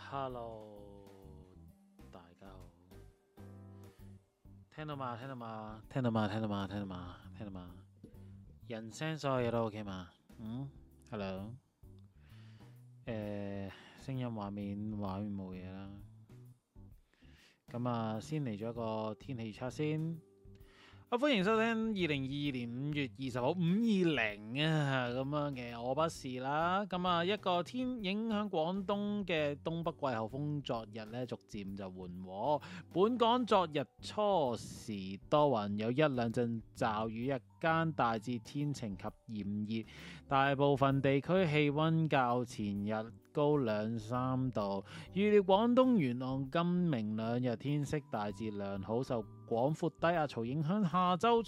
Hello，大家好，聽到嘛？聽到嘛？聽到嘛？聽到嘛？聽到嘛？聽到嘛？人聲所有嘢都 OK 嘛？Hello，聲音畫面冇嘢啦。咁啊，先嚟咗一個天氣預測先。歡迎收聽2022年5月20號520啊，咁樣嘅我不是啦。咁啊，一個影響廣東嘅東北季候風，昨日咧逐漸就緩和。本港昨日初時多雲，有一兩陣驟雨，日間大致天晴及炎熱，大部分地區氣温較前日高2-3度。預料廣東沿岸今明兩日天色大致良好，受廣闊低壓槽影響，下周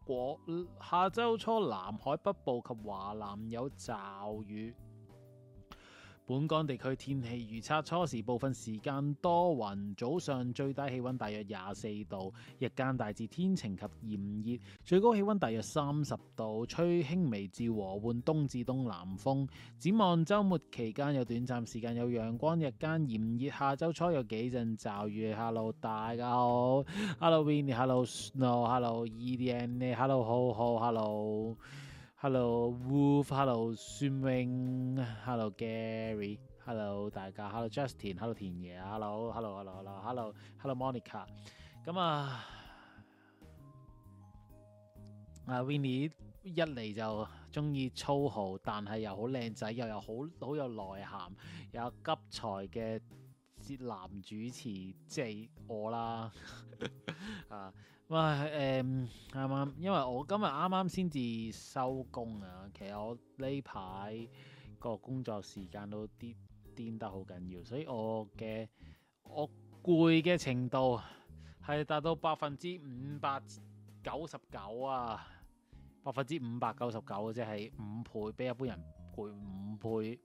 初南海北部及華南有驟雨。本港地區天氣預測：初時部分時間多雲，早上最低氣温大約24度，日間大致天晴及炎熱，最高氣温大約30度，吹輕微至和緩東至東南風。展望週末期間有短暫時間有陽光，日間炎熱，下周初有幾陣驟雨。Hello， 大家好 ，Hello Winnie，Hello Snow，Hello EDN，Hello 浩浩，Hello Wolf，Hello 孫 wing，Hello Gary，Hello 大家 ，Hello Justin，Hello 田爺，Hello Monica。咁啊，Winnie 一嚟就中意粗豪，但係又好靚仔，又有好有內涵，又有急才嘅男主持，即係我啦。啊，啱啱，因為我今日啱啱先至收工啊，其實我呢排個工作時間都癲得好緊要，所以我攰嘅程度係達到599%啊，599%，即係5倍，比一般人攰5倍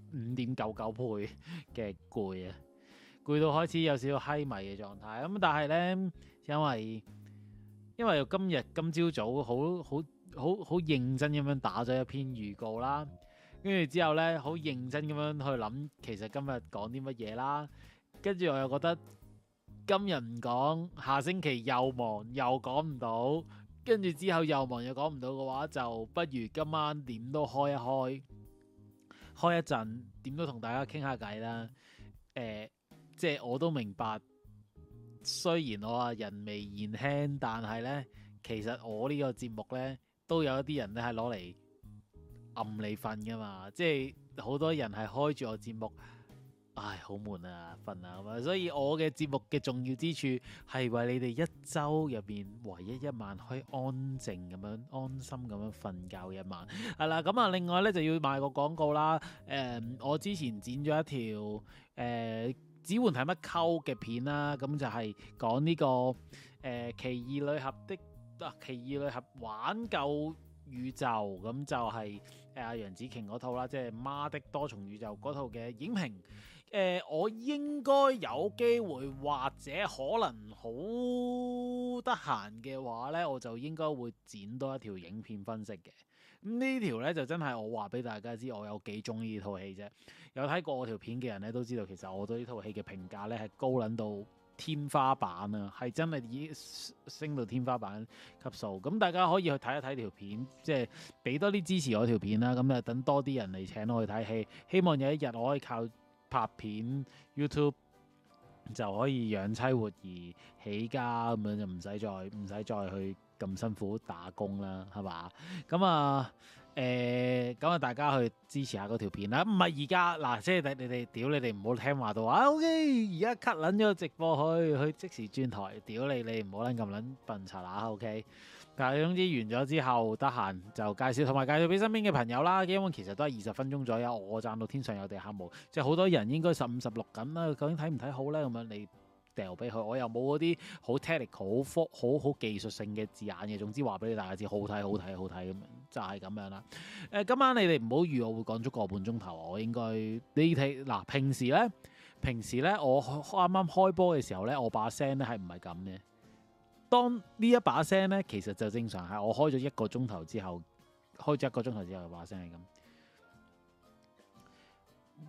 ，5.99倍嘅攰啊！攰到開始有少少閪迷嘅狀態，咁但係呢，因為今朝早好認真咁樣打咗一篇預告啦，跟住之後呢，好認真咁樣去諗，其實今日講啲乜嘢啦，跟住我又覺得今日唔講，下星期又忙又講唔到，跟住之後又忙又講唔到嘅話，就不如今晚點都開一陣，點都同大家傾下偈啦。即係我都明白，雖然我人微言輕，但係呢，其實我呢個節目呢，都有一啲人咧係攞嚟暗你瞓噶嘛，即係好多人係開住我節目，唉，好悶啊，瞓啊咁啊，所以我嘅節目嘅重要之處係為你哋一周入邊唯一一晚可以安靜咁樣、安心咁樣瞓覺一晚。係啦，咁啊，另外呢，就要賣個廣告啦。我之前剪咗一條只換睇乜溝嘅片啦，咁就係講呢個奇異女俠奇異女俠玩救宇宙，咁就係楊紫瓊嗰套啦，即係媽的多重宇宙嗰套嘅影評。我應該有機會或者可能好得閒嘅話呢，我就應該會剪多一條影片分析嘅。咁呢條呢，就真係我話俾大家知，我有幾中意呢套戲啫。有睇過我條片嘅人呢，都知道，其實我對呢套戲嘅評價呢係高撚到天花板啊，係真係已經升到天花板級數。咁大家可以去睇一睇條片，即係俾多啲支持我條片啦。咁啊，等多啲人嚟請我去睇戲，希望有一日我可以靠拍片 YouTube 就可以養妻活兒起家，咁樣就唔使再去咁辛苦打工啦，係嘛？咁啊大家去支持下嗰條片啦。唔係而家嗱，即係你哋唔好聽話到話 OK， 而家 cut 撚咗直播去即時轉台，屌你唔好撚咁撚笨柒啦 OK。但係總之完咗之後，得閒就介紹，同埋介紹俾身邊嘅朋友啦。因為其實都係20分鐘左右，我讚到天上有地下無，即係好多人應該15、16緊啦。究竟睇唔睇好咧？咁樣你掉俾佢，我又冇嗰啲好 technical、好技術性嘅字眼嘅。總之話俾你大家知，好睇咁樣，就係咁樣啦。今晚你哋唔好預我會講足個半鐘頭，我應該你睇嗱。平時咧，我啱啱開波嘅時候咧，我把聲咧係唔係咁嘅。當呢一把聲咧，其實就正常係我開咗1個鐘頭之後，把聲係咁。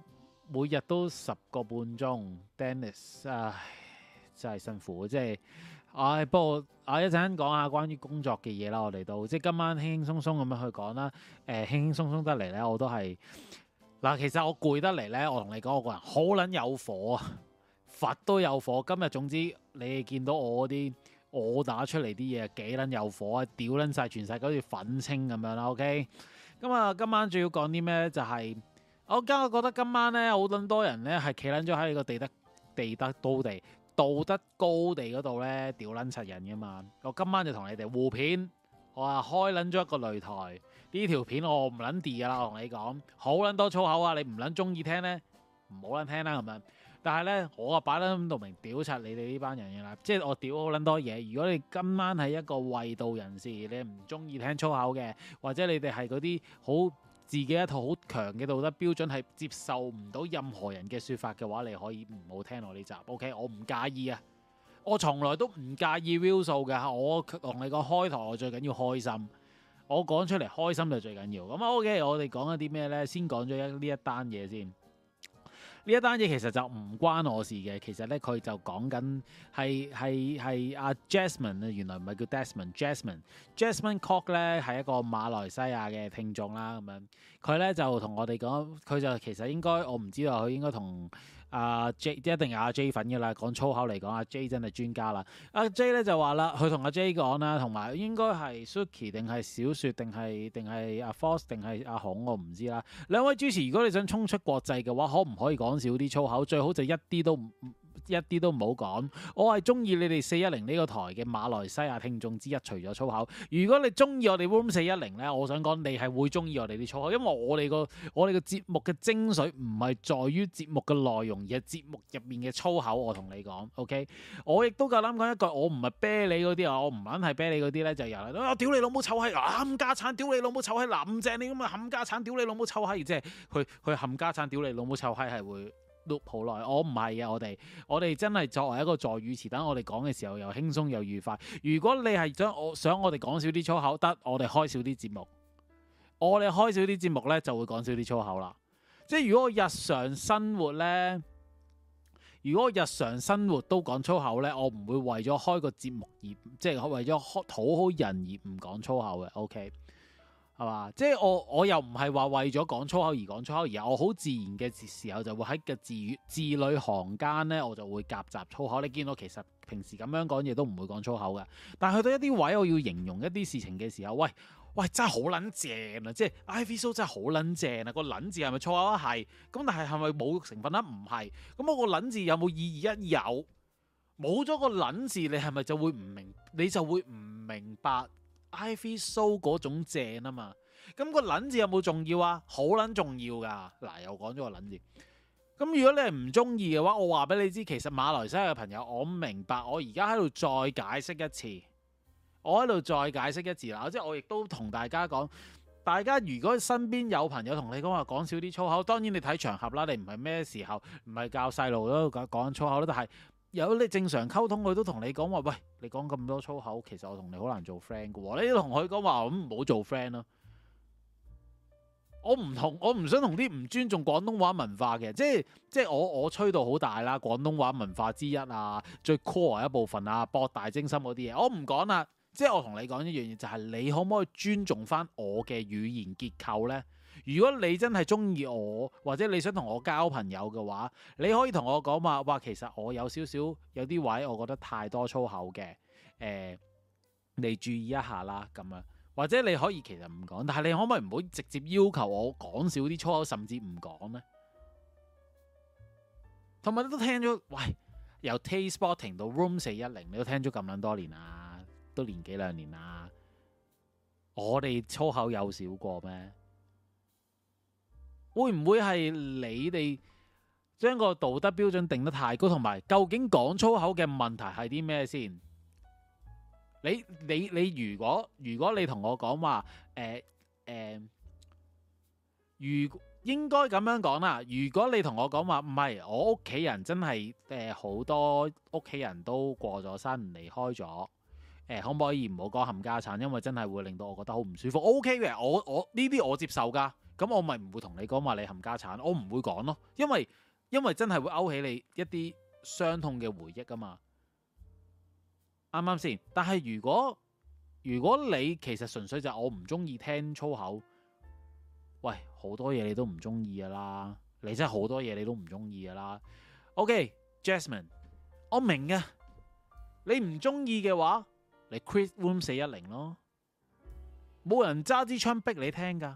每日都10個半鐘 Dennis， 唉，真係辛苦，即係，不過一陣間講下關於工作嘅嘢啦，我哋都即係今晚輕輕鬆鬆咁樣去講啦，輕輕鬆鬆得嚟咧，我都係嗱，其實我攰得嚟咧，我同你講，我個人好撚有火啊，佛都有火，今日總之你哋見到我啲。我打出嚟啲嘢幾撚有火啊！屌撚晒全世界好似粉青咁樣啦，OK？咁啊，今晚仲要講啲咩咧？就係、我覺得今晚咧好撚多人咧係企撚咗喺個道德高地嗰度咧屌撚柒人噶嘛！我今晚就同你哋互片，我話開撚咗一個擂台，呢條片我唔撚 D 噶啦，我同你講，好撚多粗口啊！你唔撚中意聽咧，唔好撚聽啦咁樣。但係咧，我啊擺得咁到明屌柒你哋呢班人嘅啦，即係我屌好撚多嘢。如果你今晚係一個衛道人士，你唔中意聽粗口嘅，或者你哋係嗰啲好自己一套好強嘅道德標準，係接受唔到任何人嘅説法嘅話，你可以唔好聽我呢集。OK，我唔介意啊，我從來都唔介意 view 數嘅。我同你講開台，我最緊要開心，我講出嚟開心就最緊要。咁 OK，我哋講一啲咩呢？先講咗呢一單嘢先。呢一單嘢其實就唔關我事嘅，其實咧佢就講緊係阿 Jasmine 啊，原來唔係叫 Desmond，Jasmine Kok 咧係一個馬來西亞嘅聽眾啦，咁樣佢咧就同我哋講，佢就其實應該我唔知道佢應該同阿 J 一定係阿 J 粉嘅啦，講粗口嚟講，阿 J 真係專家啦。阿 J 咧就話啦，佢同阿 J 講啦，同埋應該係 Suki 定係小雪定係阿 Force 定係阿孔，我唔知啦。兩位主持，如果你想衝出國際嘅話，可唔可以講少啲粗口？最好就一啲都唔好講。我係中意你哋410呢個台嘅馬來西亞聽眾之一，除咗粗口。如果你中意我哋 Room 410咧，我想講你係會中意我哋啲粗口，因為我哋個節目嘅精髓唔係在於節目嘅內容，而係節目入面嘅粗口。我同你講 ，OK？我亦都夠膽講一句，我唔係啤你嗰啲啊，我唔撚係啤你嗰啲咧，就由嚟我屌你老母臭閪，冚家產屌你老母臭閪，林鄭你咁啊冚家產屌你老母臭閪，即係佢冚家產屌你老母臭閪係會loop 好耐，我唔係啊！我哋真係作為一個助語詞，等我哋講嘅時候又輕鬆又愉快。如果你係想我哋講少啲粗口，得我哋開少啲節目，我哋開少啲節目咧就會講少啲粗口啦。即係如果我日常生活咧，如果我日常生活都講粗口咧，我唔會為咗開個節目而即係為咗討好人而唔講粗口嘅。OK。係嘛？即係我又唔係話為咗講粗口而講粗口，而我好自然嘅時候就會喺個字裏行間咧，我就會夾雜粗口。你見到其實平時咁樣講嘢都唔會講粗口嘅，但係去到一啲位我要形容一啲事情嘅時候，喂，真係好撚正啊！即係 Ivy So 真係好撚正啊！個撚字係咪粗口啊？係。咁但係係咪冇成分啊？唔係。咁我個撚字有冇意義啊？有。冇咗個撚字，你係咪就會唔明？你就會唔明白。Ivy So 嗰種正啊嘛，咁個撚字有冇重要啊？好撚重要噶，嗱又講咗個撚字。咁如果你係唔中意嘅話，我話俾你知，其實馬來西亞嘅朋友，我明白，我而家喺度再解釋一次，我喺度再解釋一次啦，即係我亦都同大家講，大家如果身邊有朋友同你講話講少啲粗口，當然你睇場合啦，你唔係咩時候，唔係教細路都講粗口啦，但係。有你正常溝通，佢都同你講話，喂，你講咁多粗口，其實我同你好難做 friend 嘅喎。你都同佢講話，咁唔好做 friend 咯。我唔想同啲唔尊重廣東話文化嘅，即係我吹到好大啦，廣東話文化之一啊，最 core 一部分啊，博大精深嗰啲嘢，我唔講啦。即係我同你講一樣嘢，就係你可唔可以尊重翻我嘅語言結構呢？如果你真係中意我，或者你想同我交朋友嘅話，你可以同我講話，其實我有少少有啲位，我覺得太多粗口嘅，你注意一下啦，咁樣，或者你可以其實唔講，但係你可唔可以唔好直接要求我講少啲粗口，甚至唔講呢？同埋你都聽咗，喂，由 Taste Spotting 到 Room 410，你都聽咗咁撚多年啦，都年幾兩年啦，我哋粗口有少過咩？會唔會係你哋將個道德標準定得太高，同埋究竟講粗口嘅問題係啲咩先？你如果你同我講話，如應該咁樣講啦。如果你同我講話唔係，我屋企人真係好多屋企人都過咗身離開咗，可唔可以唔好講冚家產？因為真係會令到我覺得好唔舒服。OK 嘅，我呢啲我接受㗎。 咁我咪唔會同你講話你冚家產，我唔會講咯，因為真係會勾起你一啲傷痛嘅回憶啊嘛，啱唔啱先？但係如果你其實純粹就係我唔中意聽粗口，喂，好多嘢你都唔中意噶啦，你真係好多嘢你都唔中意噶啦。OK，Jasmine，我明嘅，你唔中意嘅話，你 quit Room 410咯，冇人揸支槍逼你聽噶。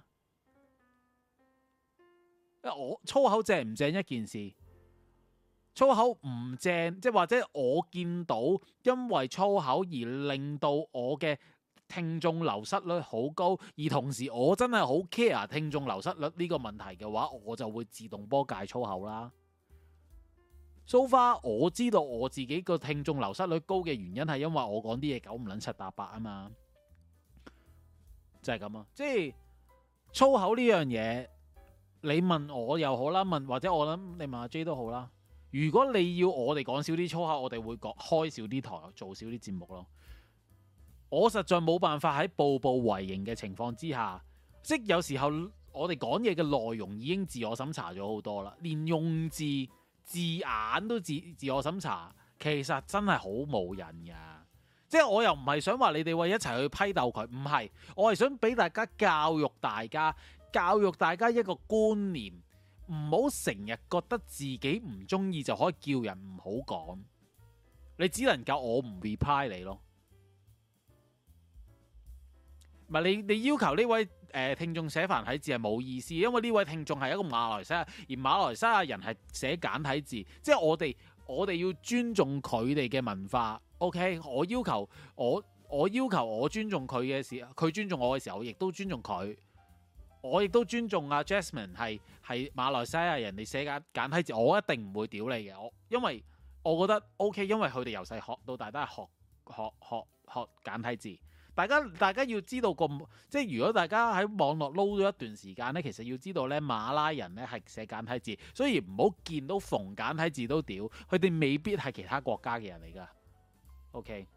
我粗口正唔正一件事，粗口唔正，即係或者我見到因為粗口而令到我嘅聽眾流失率好高，而同時我真係好 care 聽眾流失率呢個問題嘅話，我就會自動波戒粗口啦。So far 我知道我自己個聽眾流失率高嘅原因係因為我講啲嘢九唔撚七搭八啊嘛，就係咁啊！即係粗口呢樣嘢，你問我又好啦，或者我諗你問阿 J 都好啦。如果你要我哋講少啲粗口，我哋會開少啲台，做少啲節目咯。我實在冇辦法喺步步為營嘅情況之下，即有時候我哋講嘢嘅內容已經自我審查咗好多啦，連用字眼都自我審查，其實真係好冇癮噶。即係我又唔係想話你哋為一齊去批鬥佢，唔係，我係想俾大家教育大家一個觀念，唔好成日覺得自己唔中意就可以叫人唔好講，你只能夠我唔 reply 你咯。唔係你要求呢位聽眾寫繁體字係冇意思，因為呢位聽眾係一個馬來西亞，而馬來西亞人係寫簡體字，即係我哋要尊重佢哋嘅文化。OK， 我要求我尊重佢嘅時候，佢尊重我嘅時候，我亦都尊重佢。我亦都尊重阿 Jasmine 係馬來西亞人，你寫簡體字，我一定唔會屌你嘅。因為我覺得 OK， 因為佢哋由細學到大都係學簡體字。大家要知道即係如果大家喺網絡撈咗一段時間咧，其實要知道咧，馬拉人咧係寫簡體字，所以唔好見到逢簡體字都屌，佢哋未必係其他國家嘅人嚟噶。OK，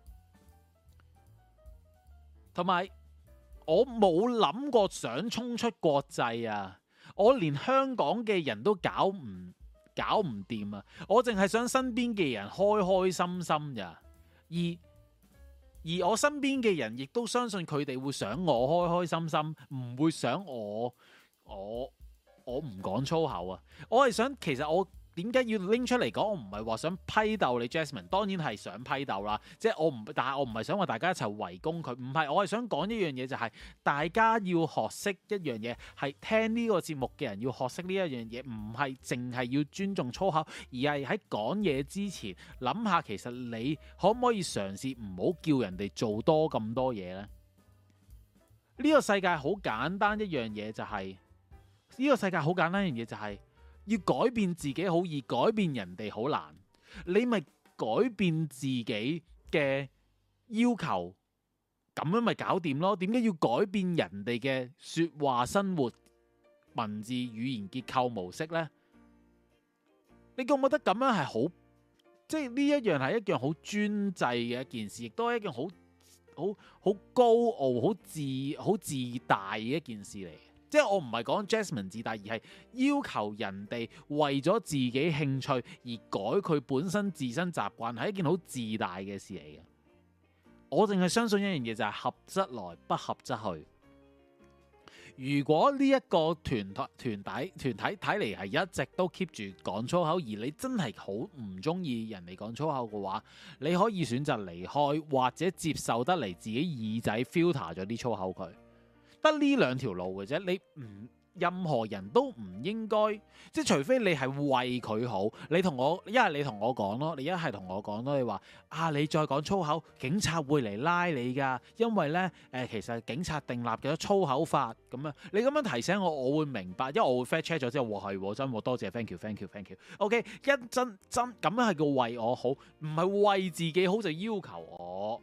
同埋我冇諗過想衝出國際啊！我連香港嘅人都搞唔掂啊！我淨係想身邊嘅人開開心心咋，而我身邊嘅人亦都相信佢哋會想我開開心心，唔會想我唔講粗口啊！我係想，其實我點解要拎出嚟講？我唔係話想批鬥你 Jasmine， 當然係想批鬥啦。即係但係我唔係想話大家一齊圍攻佢，唔係，我係想講一樣嘢，就係大家要學識一樣嘢，係聽呢個節目嘅人要學識呢一樣嘢，唔係淨係要尊重粗口，而係喺講嘢之前諗下，其實你可唔可以嘗試唔好叫人哋做多咁多嘢呢？呢個世界好簡單一樣嘢就係，呢個世界好簡單一樣嘢就係，要改變自己好易，改變人哋好難。你咪改變自己嘅要求，咁樣咪搞掂咯。點解要改變人哋嘅說話、生活、文字、語言結構模式呢？你覺唔覺得咁樣係好？即係呢一樣係一樣好專制嘅一件事，亦都係一件好高傲、好自大嘅一件事嚟。即係我唔係講 Jasmine 自大，而係要求人哋為咗自己興趣而改佢本身自身習慣，係一件好自大嘅事嚟嘅。我淨係相信一樣嘢，就係合則來，不合則去。如果呢一個團體睇嚟係一直都 keep 住講粗口，而你真係好唔中意人哋講粗口嘅話，你可以選擇離開，或者接受得嚟自己耳仔 filter 咗啲粗口佢。得呢兩條路嘅啫，你唔任何人都唔應該，即係除非你係為佢好，你同我一係你同我講咯，你一係同我講咯，你話你再講粗口，警察會嚟拉你㗎，因為呢，其實警察訂立咗粗口法咁樣，你咁樣提醒我，我會明白，因為我會 fact check 咗之後，係真喎，多謝 thank you。OK， 真咁樣係叫為我好，唔係為自己好就要求我。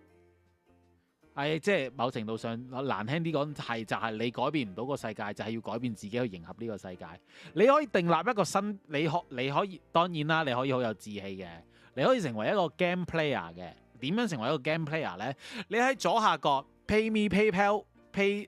即係某程度上難聽啲講，就係你改變唔到個世界，就係要改變自己去迎合呢個世界。你可以訂立一個新，你可以當然啦，你可以好有志氣嘅，你可以成為一個 game player 嘅。點樣成為一個 game player 呢？你喺左下角 Pay Me PayPal pay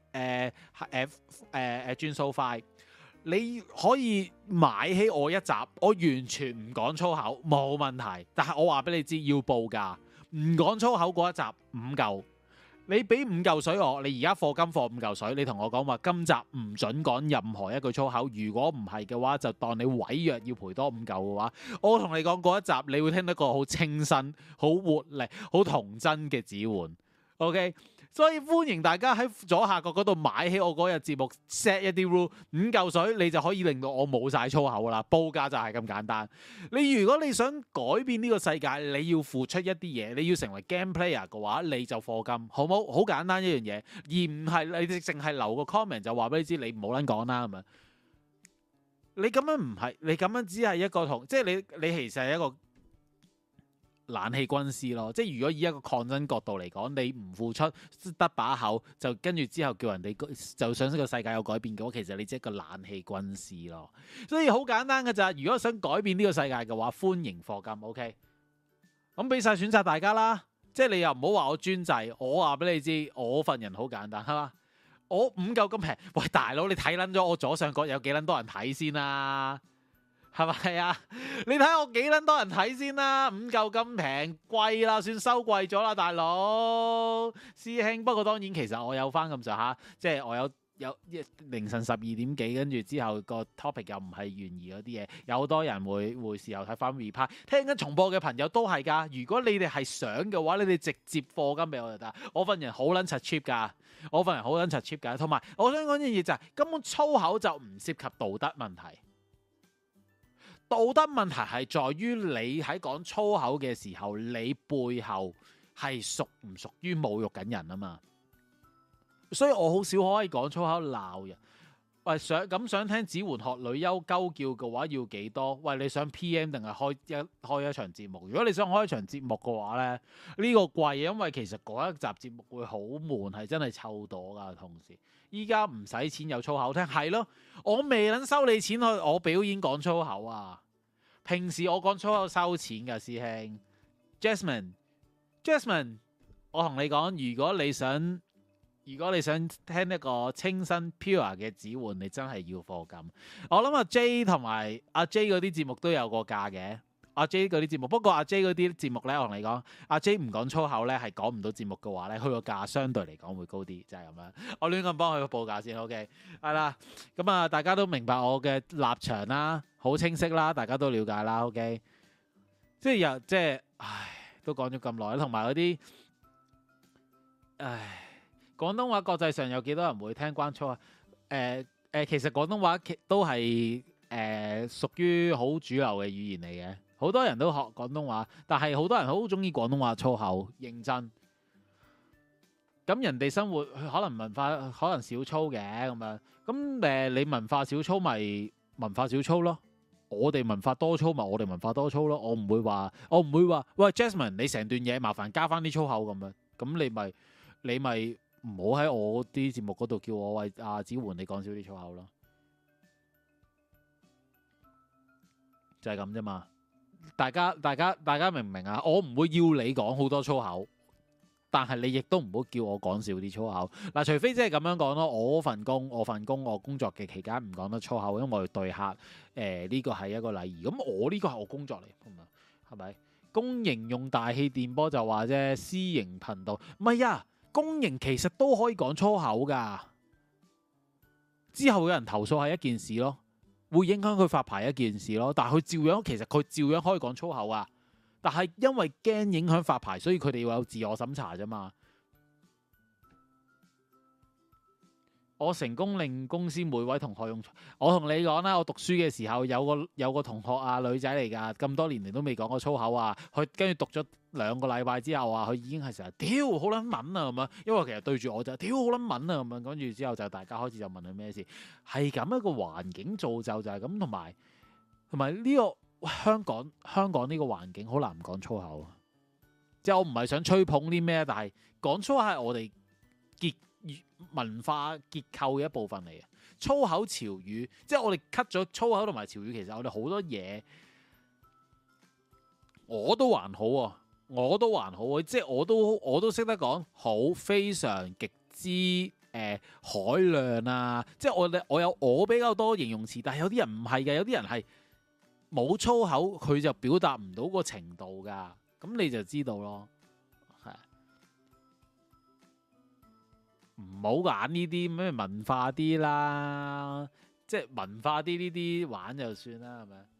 轉數快，你可以買起我一集，我完全唔講粗口冇問題。但係我話俾你知要報價，唔講粗口嗰一集5嚿。你俾5嚿水我，你而家課金課5嚿水，你同我講話今集唔準講任何一句粗口，如果唔係嘅話，就當你違約要賠多5嚿嘅話，我同你講嗰一集，你會聽到一個好清新、好活力、好童真嘅指煥。OK， 所以歡迎大家喺左下角嗰度買起我嗰日節目 set 一啲 rule， 5嚿水你就可以令到我冇晒粗口啦。報價就係咁簡單。如果你想改變呢個世界，你要付出一啲嘢，你要成為 game player 嘅話，你就課金，好冇？好簡單一樣嘢，而唔係你淨係留個 comment 就話俾你知，你唔好撚講啦咁樣。你咁樣唔係，你咁樣只係一個即係你其實係一個冷氣軍師咯，即係如果以一個抗爭角度嚟講，你唔付出得把口，就跟住之後叫人哋就想呢個世界有改變嘅話，其實你即係一個冷氣軍師咯。所以好簡單嘅咋，如果想改變呢個世界嘅話，歡迎課金 ，OK？ 咁俾晒選擇大家啦，即係你又唔好話我專制，我話俾你知，我份人好簡單，係嘛？我5嚿咁平，喂大佬，你睇撚咗我左上角有幾撚多人睇先啦？係咪啊？你睇我幾撚多人睇先啦？5嚿咁平，貴啦，算收貴咗啦，大佬師兄。不過當然其實我有翻咁上下，即係我有凌晨12點幾，跟住之後個 topic 又唔係懸疑嗰啲嘢，有好多人會事後睇翻 replay， 聽緊重播嘅朋友都係㗎。如果你哋係想嘅話，你哋直接課金俾我就得。我份人好撚柒 cheap 㗎，同埋我想講一樣嘢就係根本粗口就唔涉及道德問題。道德問題係在於你喺講粗口嘅時候，你背後係屬唔屬於侮辱緊人啊嘛？所以我好少可以講粗口鬧人。喂，想聽子桓學女優鳩叫嘅話要幾多？喂，你想 PM 定係開一場節目？如果你想開一場節目嘅話咧，呢個貴，因為其實嗰一集節目會好悶，係真係臭朵噶。同時，依家唔使錢有粗口聽，係咯，我未能收你錢去我表演講粗口啊！平時我講粗口收錢噶，師兄 Jasmine， 我同你講，如果你想聽一個清新 pure 嘅指煥，你真係要課金。我諗阿 J 同埋阿 J 嗰啲節目都有個價嘅。阿 J 嗰啲節目，不過阿 J 嗰啲節目咧，我同你講，阿 J 唔講粗口咧，係講唔到節目嘅話咧，佢個價相對嚟講會高啲，就係咁樣。我亂咁幫佢報價先 ，OK？ 係啦，咁啊，大家都明白我嘅立場啦，好清晰啦，大家都了解啦，OK？ 即係，都講咗咁耐，同埋嗰啲，廣東話國際上有幾多人會聽關粗啊？其實廣東話都係屬於好主流嘅語言嚟嘅，好多人都學廣東話，但係好多人好中意廣東話粗口，認真。咁人哋生活可能文化可能少粗嘅咁樣，咁你文化少粗咪文化少粗咯，我哋文化多粗咪我哋文化多粗咯。我唔會話，喂 Jasmine， 你成段嘢麻煩加翻啲粗口咁樣，咁你咪。唔好喺我啲節目嗰度叫我喂阿子桓你講少啲粗口咯，就係咁啫嘛。大家明唔明啊？我唔會要你講好多粗口，但係你亦都唔好叫我講少啲粗口。嗱，除非即係咁樣講咯。我份工我工作嘅期間唔講得粗口，因為我要對客呢個係一個禮儀。咁我呢個係我工作嚟，係咪？公營用大氣電波就話啫，私營頻道唔係啊。公營其實都可以講粗口噶，之後有人投訴係一件事咯，會影響佢發牌一件事咯。但係佢照樣可以講粗口啊。但係因為驚影響發牌，所以佢哋要有自我審查啫嘛。我成功令公司每位同學用。我同你講啦，我讀書嘅時候有個同學啊，女仔嚟㗎，咁多年嚟都未講過粗口啊。佢跟住讀咗2個禮拜之後啊，佢已經係成日屌好撚敏啊咁樣。因為其實對住我就屌好撚敏啊咁樣。跟住之後就大家開始就問佢咩事，係咁一個環境造就就係咁，同埋呢個香港呢個環境好難唔講粗口。即係我唔係想吹捧啲咩，但係講粗口係我哋文化結構嘅一部分嚟嘅。粗口潮語，即係我哋 cut 咗粗口同埋潮語，其實我哋好多嘢我都還好啊，即係我都識得講好非常極之海量啊，即係我有我比較多形容詞，但係有啲人唔係嘅，有啲人係冇粗口，佢就表達唔到個程度噶，咁你就知道咯，係唔好揀呢啲咩文化啲啦，即係文化啲呢啲玩就算啦，係咪？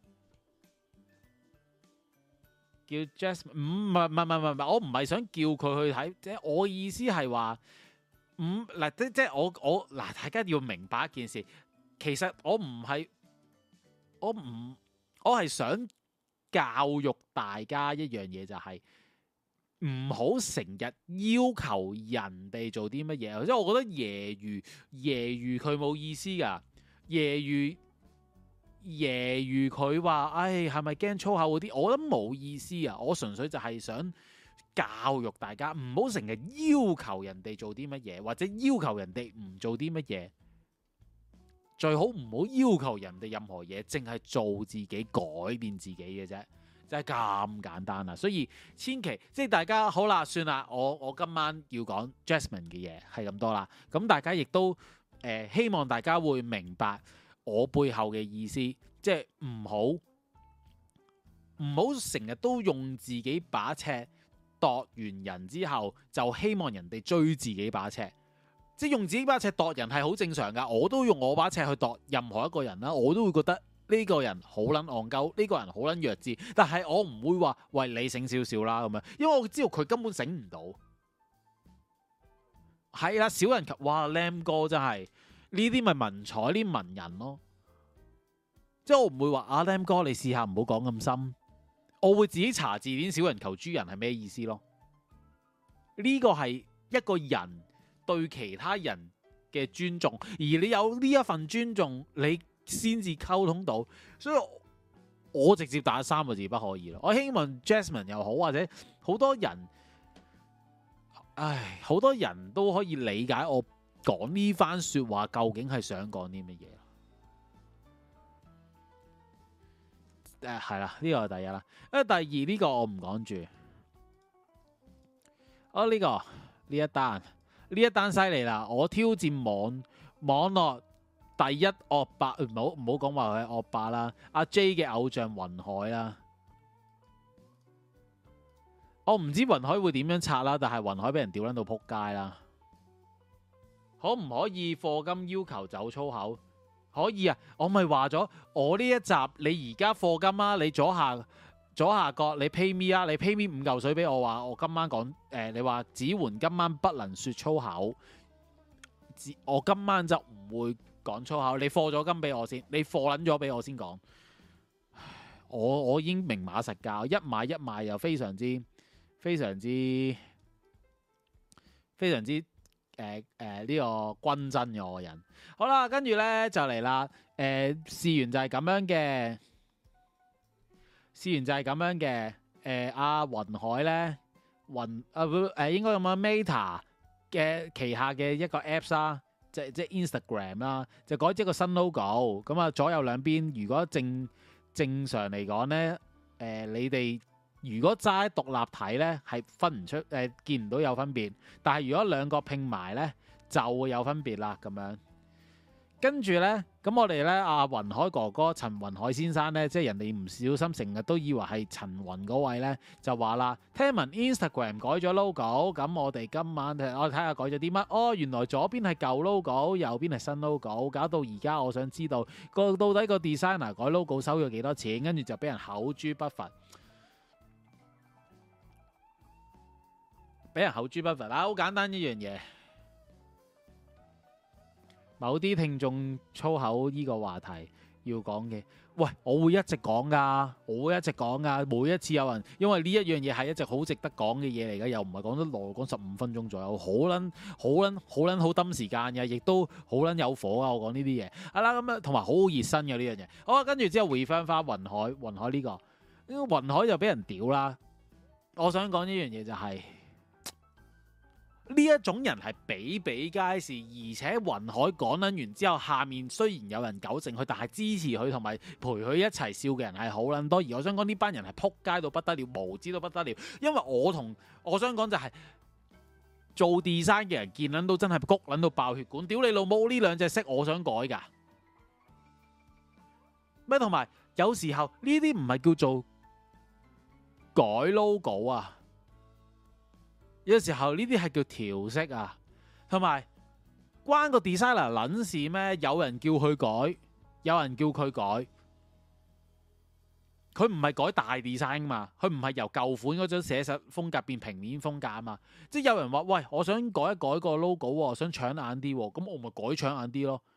叫 Jasmine 唔係，我唔係想叫佢去睇，即係我意思係話，嗱即係我嗱，大家要明白一件事，其實我係想教育大家一樣嘢，就係唔好成日要求人哋做啲乜嘢，即係我覺得揶揄佢冇意思噶，揶揄佢話，唉，係咪驚粗口嗰啲？我覺得冇意思啊！我純粹就係想教育大家，唔好成日要求人哋做啲乜嘢，或者要求人哋唔做啲乜嘢。最好唔好要求人哋任何嘢，淨係做自己，改變自己嘅啫，就係咁簡單啦。所以千祈即係大家好啦，算啦，我今晚要講 Jasmine 嘅嘢係咁多啦。咁大家亦都希望大家會明白我背後嘅意思，即係唔好成日都用自己把尺度完人之後，就希望人哋追自己把尺。即係用自己把尺度人係好正常㗎，我都用我把尺去度任何一個人啦，我都會覺得呢個人好撚戇鳩，呢個人好撚弱智，但係我唔會話喂，你醒少少啦咁樣，因為我知道佢根本醒唔到。係啦，小人及哇 Lam 哥真係呢啲咪文采啲文人咯，即係我唔會話阿 Lam 哥你試下唔好講咁深，我會自己查字典，小人求豬人係咩意思咯？呢個係一個人對其他人嘅尊重，而你有呢一份尊重，你先至溝通到。所以我直接打3個字不可以咯。我希望 Jasmine 又好，或者好多人，好多人都可以理解我講呢番說話究竟係想講啲乜嘢。係啦，呢個係第一啦。第二呢個我唔講住。呢一單犀利啦！我挑戰網絡第一惡霸，唔好講話佢係惡霸啦。阿 J 嘅偶像雲海啦，我唔知雲海會點樣拆啦，但係雲海俾人屌撚到撲街啦。可唔可以課金要求走粗口？可以啊！我咪話咗，我呢一集你而家課金啊，你左下角你 pay me 啊，你 pay me 5嚿水俾我，話我今晚講你話子桓今晚不能說粗口，我今晚就唔會講粗口。你課咗金俾我先，你課撚咗俾我先講。我已經明碼實價，一買一賣又非常之呢個均真嘅我個人。好啦，跟住呢就嚟啦。事緣就係咁樣嘅。阿雲海咧，應該咁樣 Meta 嘅旗下嘅一個 Apps 啦，即係 Instagram 啦，就改咗個新 logo。咁啊，左右兩邊如果正常嚟講咧，你哋如果齋獨立睇咧，係分唔出見唔到有分別。但係如果兩個拼埋咧，就會有分別啦。咁樣。跟住呢，咁我哋呢，阿雲海哥哥陳雲海先生呢，即係人哋唔小心成日都以為係陳雲嗰位呢，就話啦，聽聞 Instagram 改咗 logo，咁我哋今晚我睇下改咗啲乜？哦，原來左邊係舊 logo，右邊係新 logo，搞到而家我想知道到底個 designer 改 logo 收咗幾多錢？跟住就俾人口誅筆伐，啦，好簡單一樣嘢。某啲聽眾粗口呢個話題要講嘅，喂，我會一直講噶，每一次有人，因為呢一樣嘢係一直好值得講嘅嘢嚟嘅，又唔係講得耐，講15分鐘左右，好抌時間嘅，亦都好撚有火啊！我講呢啲嘢，係啦，咁啊，同埋好熱身嘅呢樣嘢。好啊，跟住之後回翻雲海呢個雲海就俾人屌啦。我想講呢樣嘢就係。呢一種人係比皆是，而且雲海講撚完之後，下面雖然有人糾正佢，但係支持佢同埋陪佢一齊笑嘅人係好撚多。而我想講呢班人係撲街到不得了，無知到不得了。因為我想講就係做 design 嘅人見撚到真係谷撚到爆血管，屌你老母呢兩隻色我想改㗎咩？同埋有時候呢啲唔係叫做改 logo 啊，有時候呢啲係叫調色啊，同埋關個 designer 撚事咩？有人叫佢改，有人叫佢改。佢唔係改大 design 嘛，佢唔係由舊款嗰種寫實風格變平面風格啊嘛，即係有人話喂，我想改一改個 logo 喎，想搶眼啲喎，咁我咪改搶眼啲咯。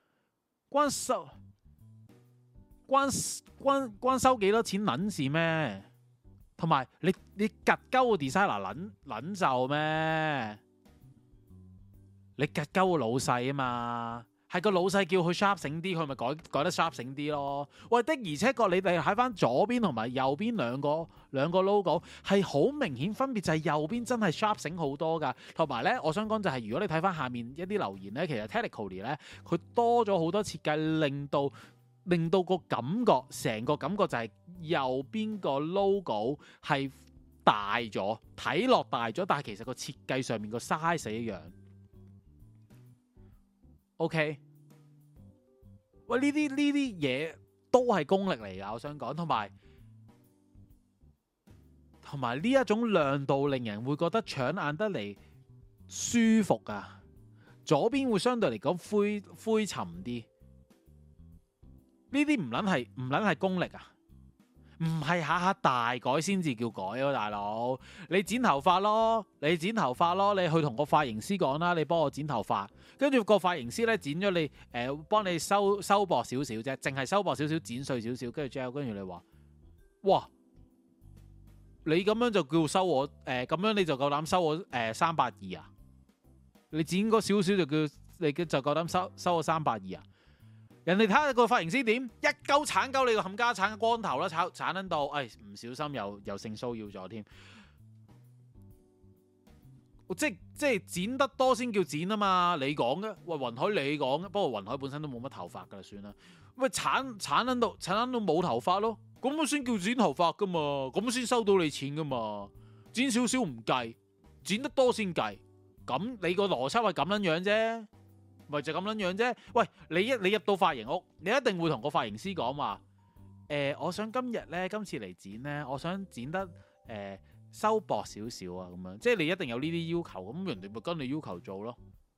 關收幾多錢撚事咩？同埋你夾鳩個 designer 撚就咩？你夾鳩個老細啊嘛。係個老細叫佢 sharp 醒啲，佢咪改得 sharp 醒啲咯。喂，的而且確你哋睇翻左邊同埋右邊兩個 logo 係好明顯分別，就係右邊真係 sharp 醒好多㗎。同埋咧，我想講就係如果你睇翻下面一啲留言咧，其實 technically 咧佢多咗好多設計，令到個感覺，成個感覺就係右邊個 logo 係大咗，睇落大咗，但係其實個設計上面個 size 一樣。OK， 喂，呢啲嘢都係功力嚟㗎，我想講，同埋呢一種亮度令人會覺得搶眼得嚟舒服啊。左邊會相對嚟講灰沉啲，呢啲唔撚係功力啊！唔係下下大改先至叫改咯，大佬。你剪頭髮咯，你去同個髮型師講啦，你幫我剪頭髮，跟住個髮型師咧剪咗你幫你收薄少少啫，淨係收薄少少，剪碎少少，跟住之後跟住你話，哇，你咁樣就叫收我咁樣你就夠膽收我320啊？你剪嗰少少就叫你就夠膽收我320啊？人哋睇下個髮型師點一鳩鏟鳩你個冚家鏟光頭啦，鏟撚到，唔小心又性騷擾咗添。即係剪得多先叫剪啊嘛，你講嘅，喂，雲海你講嘅，不過雲海本身都冇乜頭髮噶啦，算啦。喂，鏟撚到冇頭髮咯，咁先叫剪頭髮噶嘛，咁先收到你錢噶嘛。剪少少唔計，剪得多先計，咁你個邏輯係咁樣樣啫。咪就咁樣樣啫。喂，你入到髮型屋，你一定會同個髮型師講話，我想今次嚟剪咧，我想剪得收薄少少啊，咁樣，即係你一定有呢啲要求，咁人哋咪跟你要求做咯。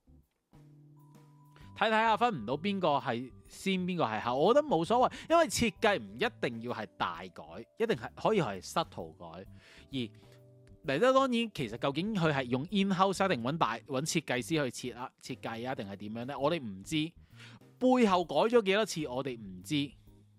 睇下分唔到邊個係先，邊個係後，我覺得冇所謂，因為設計唔一定要係大改，一定係可以係subtle改，而嚟得當然，其實究竟佢係用 in-house 定揾設計師去設計啊，定係點樣呢？我哋唔知，背後改咗幾多次，我哋唔知。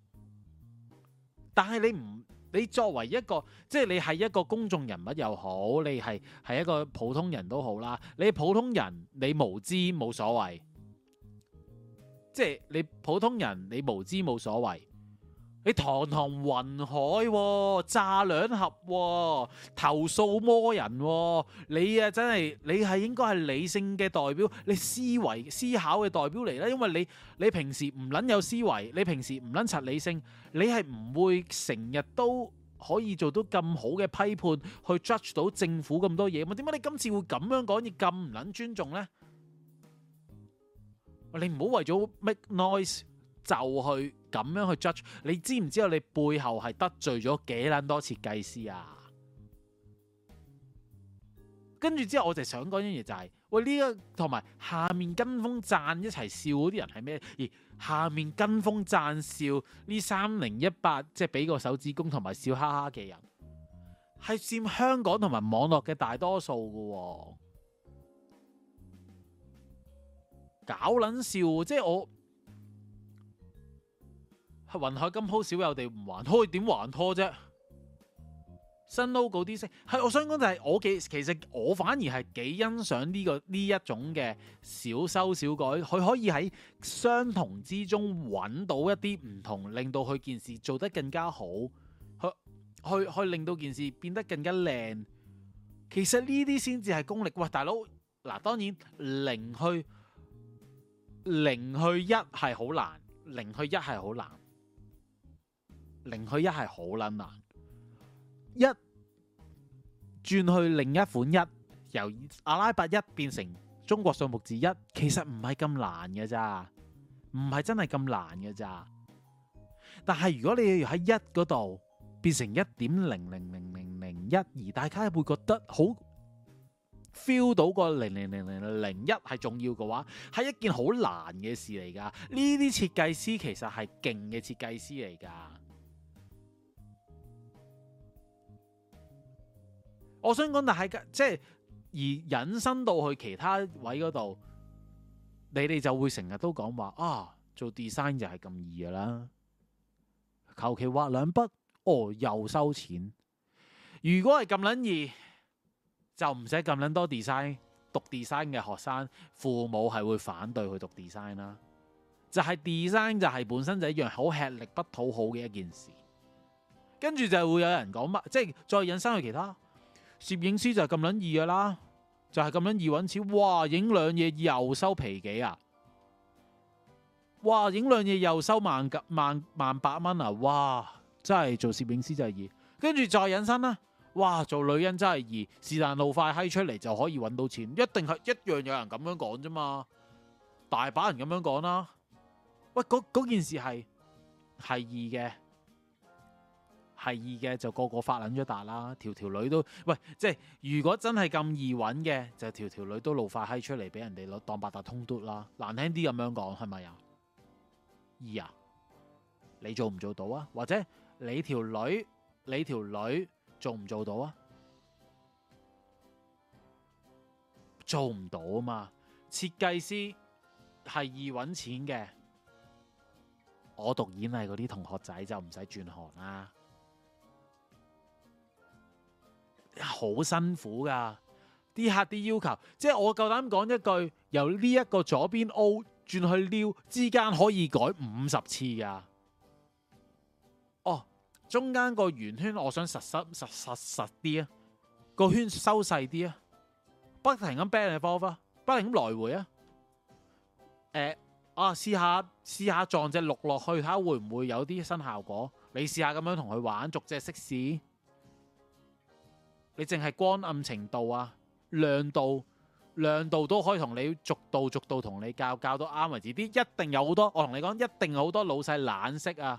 但係你作為一個，即係你係一個公眾人物又好，你係一個普通人都好啦。你普通人你無知冇所謂，即係你普通人你無知冇所謂。你堂堂雲海炸兩盒投訴魔人你啊真係你係應該係理性嘅代表，你思考嘅代表嚟啦。因為你平時唔撚有思維，你平時唔撚柒理性，你係唔會成日都可以做到咁好嘅批判去 judge 到政府咁多嘢嘛？點解你今次會咁樣講嘢咁唔撚尊重呢？你唔好為咗 make noise 就去咁樣去 judge，你知唔知道你背後係得罪咗幾撚多設計師啊？跟住之後我就想講一樣嘢就係，喂，呢個同埋下面跟風讚一齊笑嗰啲人係咩？而下面跟風讚笑呢3018，即係俾個手指公同埋笑哈哈嘅人，係佔香港同埋網絡嘅大多數㗎搞撚笑，即係我。雲海金鋪少有地唔還拖，點還拖啫？新 logo 啲色係，我想講就係其實我反而係幾欣賞呢一種嘅小修小改，佢可以喺相同之中揾到一啲唔同，令到佢件事做得更加好，去令到件事變得更加靚。其實呢啲先至係功力。喂，大佬嗱，當然0去1係好難，0去1係好難。0去1係好撚難，1轉去另一款1， 由阿拉伯一變成中國數目字一，其實唔係咁難嘅咋，唔係真係咁難嘅咋。但係如果你要喺一嗰度變成1.0000001，而大家會覺得好 feel 到個0000001係重要嘅話，係一件好難嘅事嚟㗎。呢啲設計師其實係勁嘅設計師嚟㗎。我想講，但係即係而引申到去其他位嗰度，你哋就會成日都講話啊，做 design 就係咁易㗎啦，求其畫兩筆，哦又收錢。如果係咁撚易，就唔使咁撚多 design， 讀 design 嘅學生父母係會反對去讀 design 啦。就係 design 就係本身就一樣好吃力不討好嘅一件事，跟住就會有人講乜，即係再引申去其他。攝影師就係咁撚易噶啦，就係咁撚易揾錢。哇！影兩嘢又收皮幾啊？哇！影兩嘢又收萬八蚊啊！哇！真係做攝影師就係易。跟住再引申啦，哇！做女人真係易，是但露塊閪出嚟就可以揾到錢，一定係一樣有人咁樣講啫嘛，大把人咁樣講啦。喂，嗰件事係易嘅。係易嘅就個發撚咗達啦，條女都喂，即係如果真係咁易揾嘅，就條女都露塊閪出嚟俾人哋攞當八達通嘟啦。難聽啲咁樣講係咪啊？易啊？你做唔做到啊？或者你條女做唔做到啊？做唔到啊嘛！設計師係易揾錢嘅，我讀演藝嗰啲同學仔就唔使轉行啦。好辛苦噶，啲客啲要求，即係我夠膽講一句，由呢一個左邊 O 轉去撩之間可以改50次噶。哦，中間個圓圈我想實啲啊，個圈收細啲啊，不停咁 back and forth，不停咁來回啊。試下撞隻鹿落去，睇下會唔會有啲新效果。你試下咁樣同佢玩，逐隻識試。你淨係光暗程度啊，亮度都可以同你逐度同你教到啱為止。啲一定有好多，我同你講，一定有好多老細懶識啊，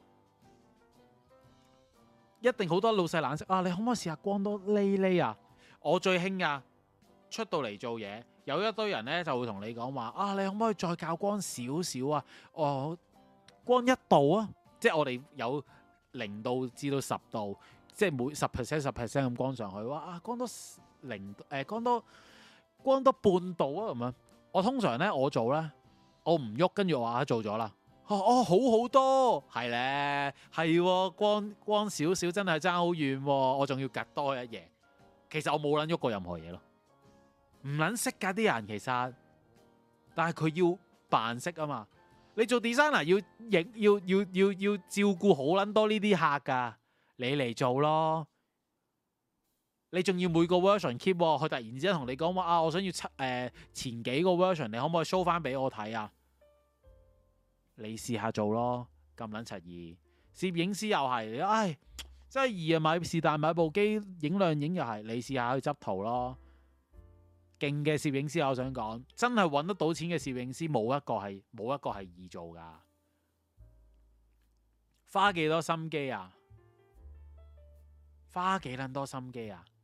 一定好多老細懶識啊。你可唔可以試下光多呢啊？我最興啊，出到嚟做嘢，有一堆人咧就會同你講話啊，你可唔可以再教光少少啊？哦，光1度啊，即係我哋有0度至到10度。即係每10% 咁光上去，哇！光多半度啊咁樣。我通常咧我做咧，我唔喐，跟住我話做咗啦。好好多，係咧，係光少少真係爭好遠，我仲要隔多一嘢。其實我冇撚喐過任何嘢咯，唔撚識㗎啲人其實，但係佢要扮識啊嘛。你做 designer 要照顧好撚多呢啲客㗎。你嚟做咯，你仲要每個 version keep，佢突然之間同你講話啊，我想要前幾個 version，你可唔可以 show 翻俾我睇啊？你試下做咯，咁撚柒易。攝影師又係，唉，真係易啊！是但買部機影兩影又係，你試下去執圖咯。勁嘅攝影師，我想講，真係揾得到錢嘅攝影師，冇一個係易做噶。花幾多心機啊？花幾撚多心機啊？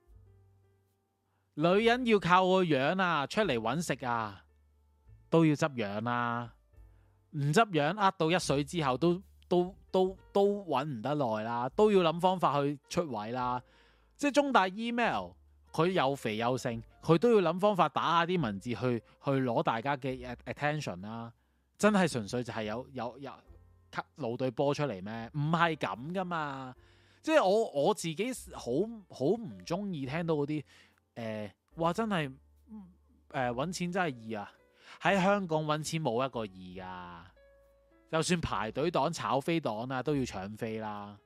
女人要靠個樣啊，出嚟揾食啊，都要執樣啊。唔執樣呃到一水之後都揾唔得耐啦，都要諗方法去出位啦。即係中大 email， 佢又肥又盛，佢都要諗方法打下啲文字去攞大家嘅 attention 啦。真係純粹就係有露對波出嚟咩？唔係咁噶嘛。即係我自己好唔中意聽到嗰啲話真係揾錢真係易啊！喺香港揾錢冇一個易噶，就算排隊黨、炒飛黨啊，都要搶飛啦。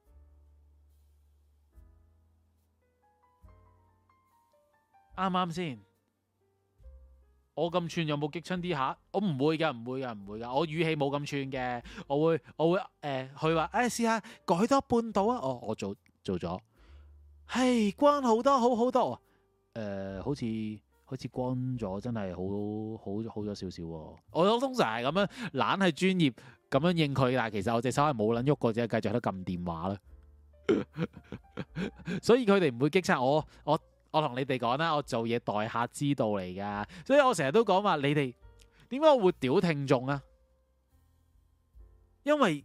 啱啱先？我咁串有冇激親啲客？我唔會噶，我語氣冇咁串嘅，我會佢話試下改多半度啊！我做咗，係光好多，好好多。 好似光咗，真係好咗少少喎。我通常係咁樣懶係專業咁樣應佢，但係其實我隻手係冇撚喐過，只係繼續喺度撳電話啦。所以佢哋唔會擊殺我。我同你哋講啦，我做嘢待客之道嚟㗎，所以我成日都講話你哋點解我會屌聽眾啊？因為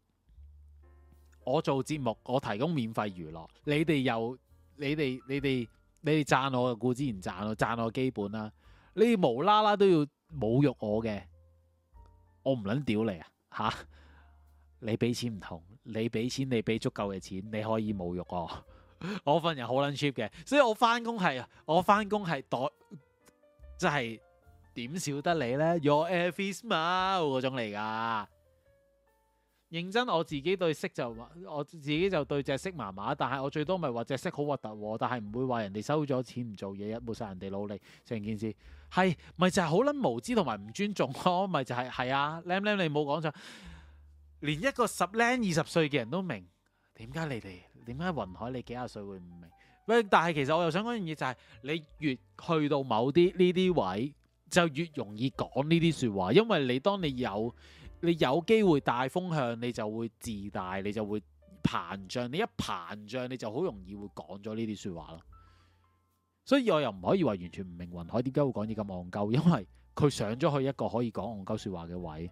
我做節目，我提供免費娛樂，你哋讚我嘅固之然讚我基本啦。你哋無啦啦都要侮辱我嘅，我唔撚屌你啊嚇！你俾錢唔同，你俾錢你俾足夠嘅錢，你可以侮辱我。我份人好撚 cheap 嘅，所以我翻工係代，即係點少得你呢 Your every smile 嗰種嚟㗎。認真我自己對色就對隻色麻麻，但係我最多咪話隻色好核突，但係唔會話人哋收咗錢唔做嘢，冇晒人哋努力，成件事係咪就係好撚無知同埋唔尊重咯？咪就係啊，Lam 你冇講錯，連一個10零20歲嘅人都明。點解雲海你幾廿歲會唔明？喂，但係其實我又想講一樣嘢，就係你越去到某啲呢啲位，就越容易講呢啲説話，因為當你有機會帶風向，你就會自大，你就會膨脹。你一膨脹，你就好容易會講咗呢啲説話咯。所以我又唔可以話完全唔明雲海點解會講啲咁戇鳩，因為佢上咗去一個可以講戇鳩説話嘅位。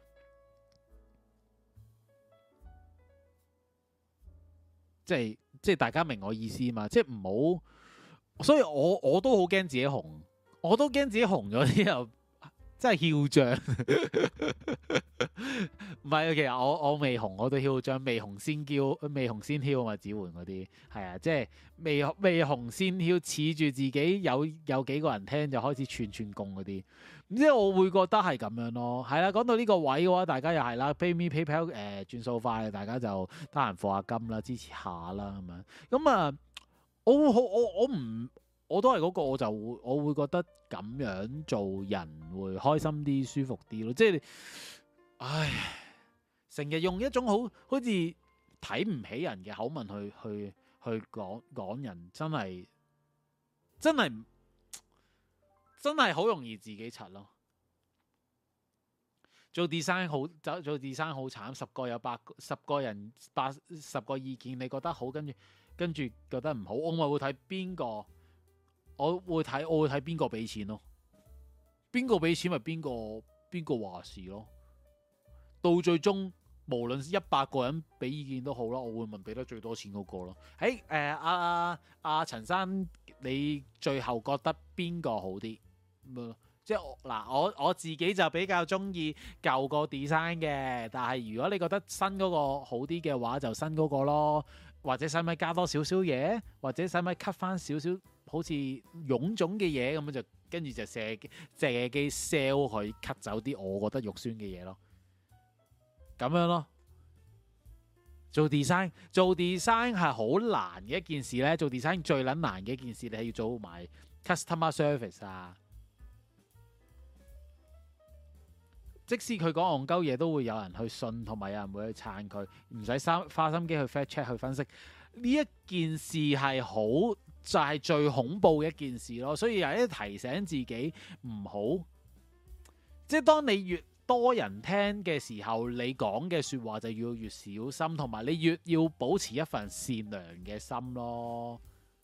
即係大家明我意思嘛？即係唔好，所以我都好驚自己紅，我都驚自己紅咗之後真係囂張。唔係啊，其實我未紅我都囂張，未紅先囂啊嘛，子桓嗰啲係啊，即係未紅先囂，恃住自己有幾個人聽就開始串供嗰啲。唔知我會覺得係咁樣咯，係啦。講到呢個位嘅話，大家又係啦，PayMe PayPal 轉數快，大家就得閒課下金啦，支持下啦咁樣。咁啊，我都係嗰個，我會覺得咁樣做人會開心啲、舒服啲咯。即係，唉，成日用一種好似睇唔起人嘅口吻去講人，真係好容易自己柒咯。做 design 好慘，10個有10個人10個意見，你覺得好，跟住覺得唔好，我咪會睇邊個，我會睇邊個俾錢咯，邊個俾錢咪邊個話事咯。到最終無論100個人俾意見都好啦，我會問俾得最多錢嗰個咯。阿陳生，你最後覺得邊個好啲？即係我自己就比較中意舊個 design 嘅，但係如果你覺得新嗰個好啲嘅話，就新嗰個咯。或者使咪加多少少嘢，或者使咪 cut 翻少少好似臃腫嘅嘢咁樣，就跟住就借機 sell 佢 cut 走啲我覺得肉酸嘅嘢咯。咁樣咯。做 design 係好難嘅一件事咧，做 design 最撚難嘅一件事，你係要做埋 customer service 啊。即使佢講戇鳩嘢，都會有人去信，同埋有人會去撐佢，唔使花心機去 fact check 去分析。呢一件事係就係最恐怖嘅一件事咯。所以有啲提醒自己唔好，即係當你越多人聽嘅時候，你講嘅説話就要越小心，同埋你越要保持一份善良嘅心咯。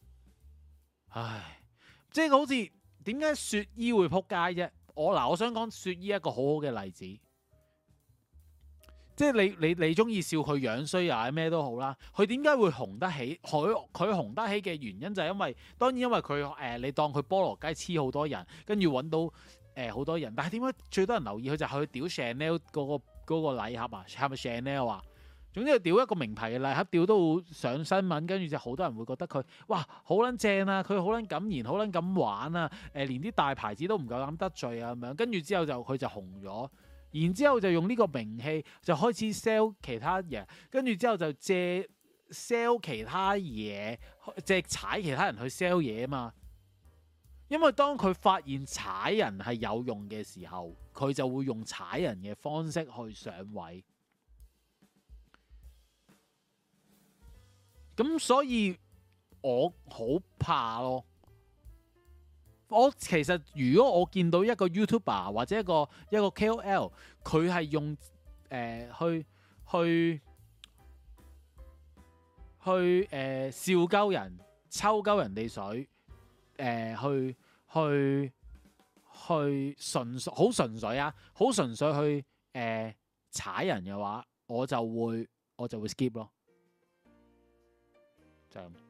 唉，即係好似點解雪姨會撲街啫？我想講雪姨一個好好嘅例子，即係你中意笑佢樣衰啊咩都好啦，佢點解會紅得起？佢紅得起嘅原因就係因為佢你當佢菠蘿雞黐好多人，跟住揾到好多人，但係點解最多人留意佢就係佢屌 Chanel 嗰個禮盒啊？係咪 Chanel 啊？總之係屌一個名牌嘅禮盒，屌到上新聞，跟住就好多人會覺得佢哇好撚正啊，佢好撚敢言，好撚敢玩啊！連啲大牌子都唔夠膽得罪啊咁樣，跟住之後佢就紅咗，然之後就用呢個名氣就開始 sell 其他嘢，跟住之後就借 sell 其他嘢，借踩其他人去 sell 嘢啊嘛。因為當佢發現踩人係有用嘅時候，佢就會用踩人嘅方式去上位。咁所以我好怕咯， 我其實如果我見到一個 YouTuber 或者一個 KOL，佢係用去笑鳩人、抽鳩人哋水，去純粹好純粹啊，好純粹去踩人嘅話，我就會 skip 咯，就係咁。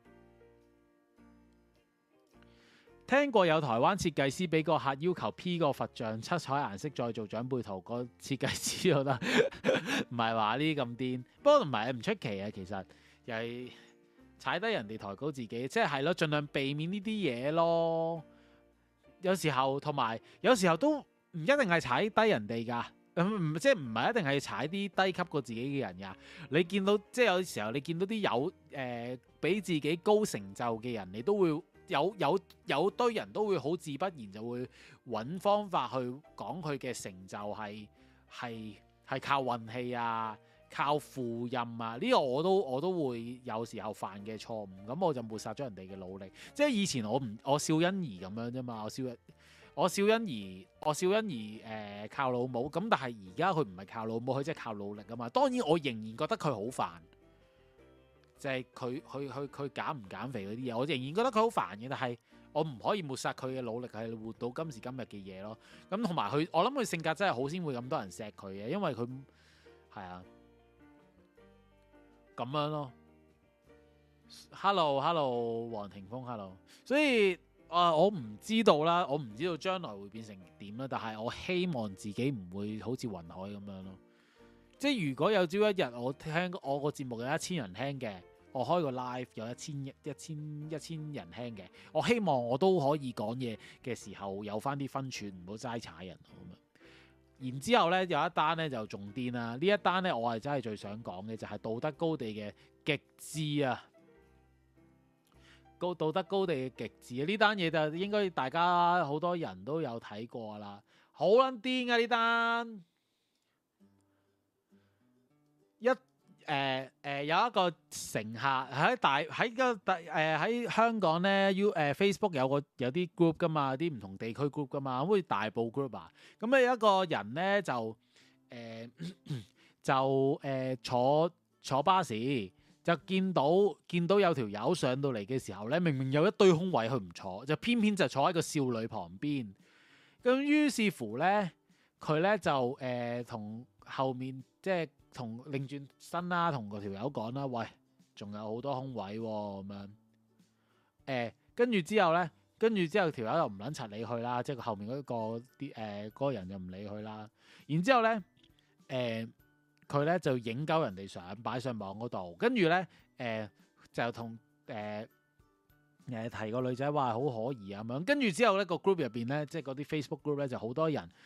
聽過有台灣設計師俾個客要求 P 個佛像七彩顏色再做長輩圖，個設計師都得，唔係話呢啲咁癲。不過唔係唔出奇啊，其實又係踩低人哋抬高自己，即係咯，盡量避免呢啲嘢咯。有時候同埋有時候都唔一定係踩低人哋㗎，即係唔係一定係踩啲低級過自己嘅人㗎。你見到即係有時候你見到啲比自己高成就嘅人，你都會。有堆人都會好自不然就會揾方法去講佢嘅成就係靠運氣啊，靠父蔭啊，呢個我都會有時候犯嘅錯誤，咁我就抹殺咗人哋嘅努力。即係以前我笑欣怡咁樣啫嘛，我笑欣怡靠老母，咁但係而家佢唔係靠老母，佢即係靠努力啊嘛。當然我仍然覺得佢好煩。就係佢減唔減肥嗰啲嘢，我仍然覺得佢好煩嘅，但係我唔可以抹殺佢嘅努力係活到今時今日嘅嘢咯。咁同埋佢，我諗佢性格真係好先會咁多人錫佢嘅，因為佢係啊咁樣咯。Hello， 黃霆鋒 ，Hello。所以我唔知道啦，我唔知道將來會變成點啦。但係我希望自己唔會好似雲海咁樣咯。即係如果有朝一日我聽我個節目有1000人聽嘅，我開個 live 有一千人聽嘅，我希望我都可以講嘢嘅時候有翻啲分寸，唔好齋踩人咁樣。然之後咧有一單咧就仲癲啦，呢一單咧我係真係最想講嘅就係道德高地嘅極致啊，道德高地嘅極致啊！呢單嘢就應該大家好多人都有睇過啦，好撚癲啊呢單！有一個乘客喺香港咧，Facebook 有啲 group 噶嘛，啲唔同地區 group 噶嘛，好似大埔 group 啊。咁有一個人咧坐巴士，就見到有條友上到嚟嘅時候咧，明明有一堆空位佢唔坐，就偏偏就坐喺個少女旁邊。咁於是乎咧，佢咧就同後面即係。同擰轉身啦，同嗰條友講啦，喂，仲有好多空位喎，咁樣。跟住之後條友又唔撚柒理佢啦，即係佢後面嗰個人又唔理佢啦。然之後咧，佢咧就影鳩人哋相擺上網嗰度，跟住咧就同提個女仔話好可疑啊咁樣。跟住之後咧個 group 入邊咧，即係嗰啲 Facebook group 咧就好多人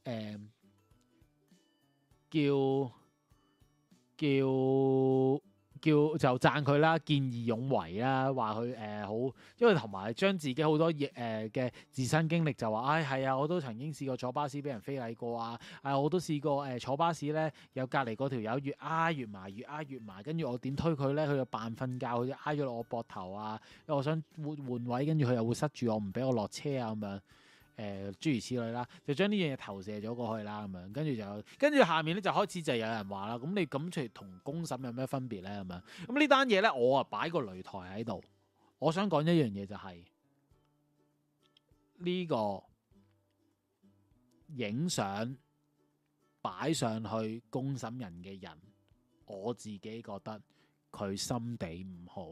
就讚佢啦，見義勇為啦，話佢好，因為同埋將自己好多嘅自身經歷就話，係啊，我都曾經試過坐巴士俾人非禮過啊，我都試過坐巴士咧，有隔離嗰條友越挨越埋，跟住我點推佢咧，佢就扮瞓覺，佢就挨咗落我膊頭啊，因為我想換位，跟住佢又會塞住我，唔俾我落車啊咁樣。諸如此類啦，就將呢樣嘢投射咗過去啦，咁樣跟住下面咧就開始就有人話啦，咁你咁出嚟同公審有咩分別咧？咁樣咁呢單嘢咧，我啊擺個擂台喺度，我想講一樣嘢就係呢個影相擺上去公審人嘅人，我自己覺得佢心地唔好，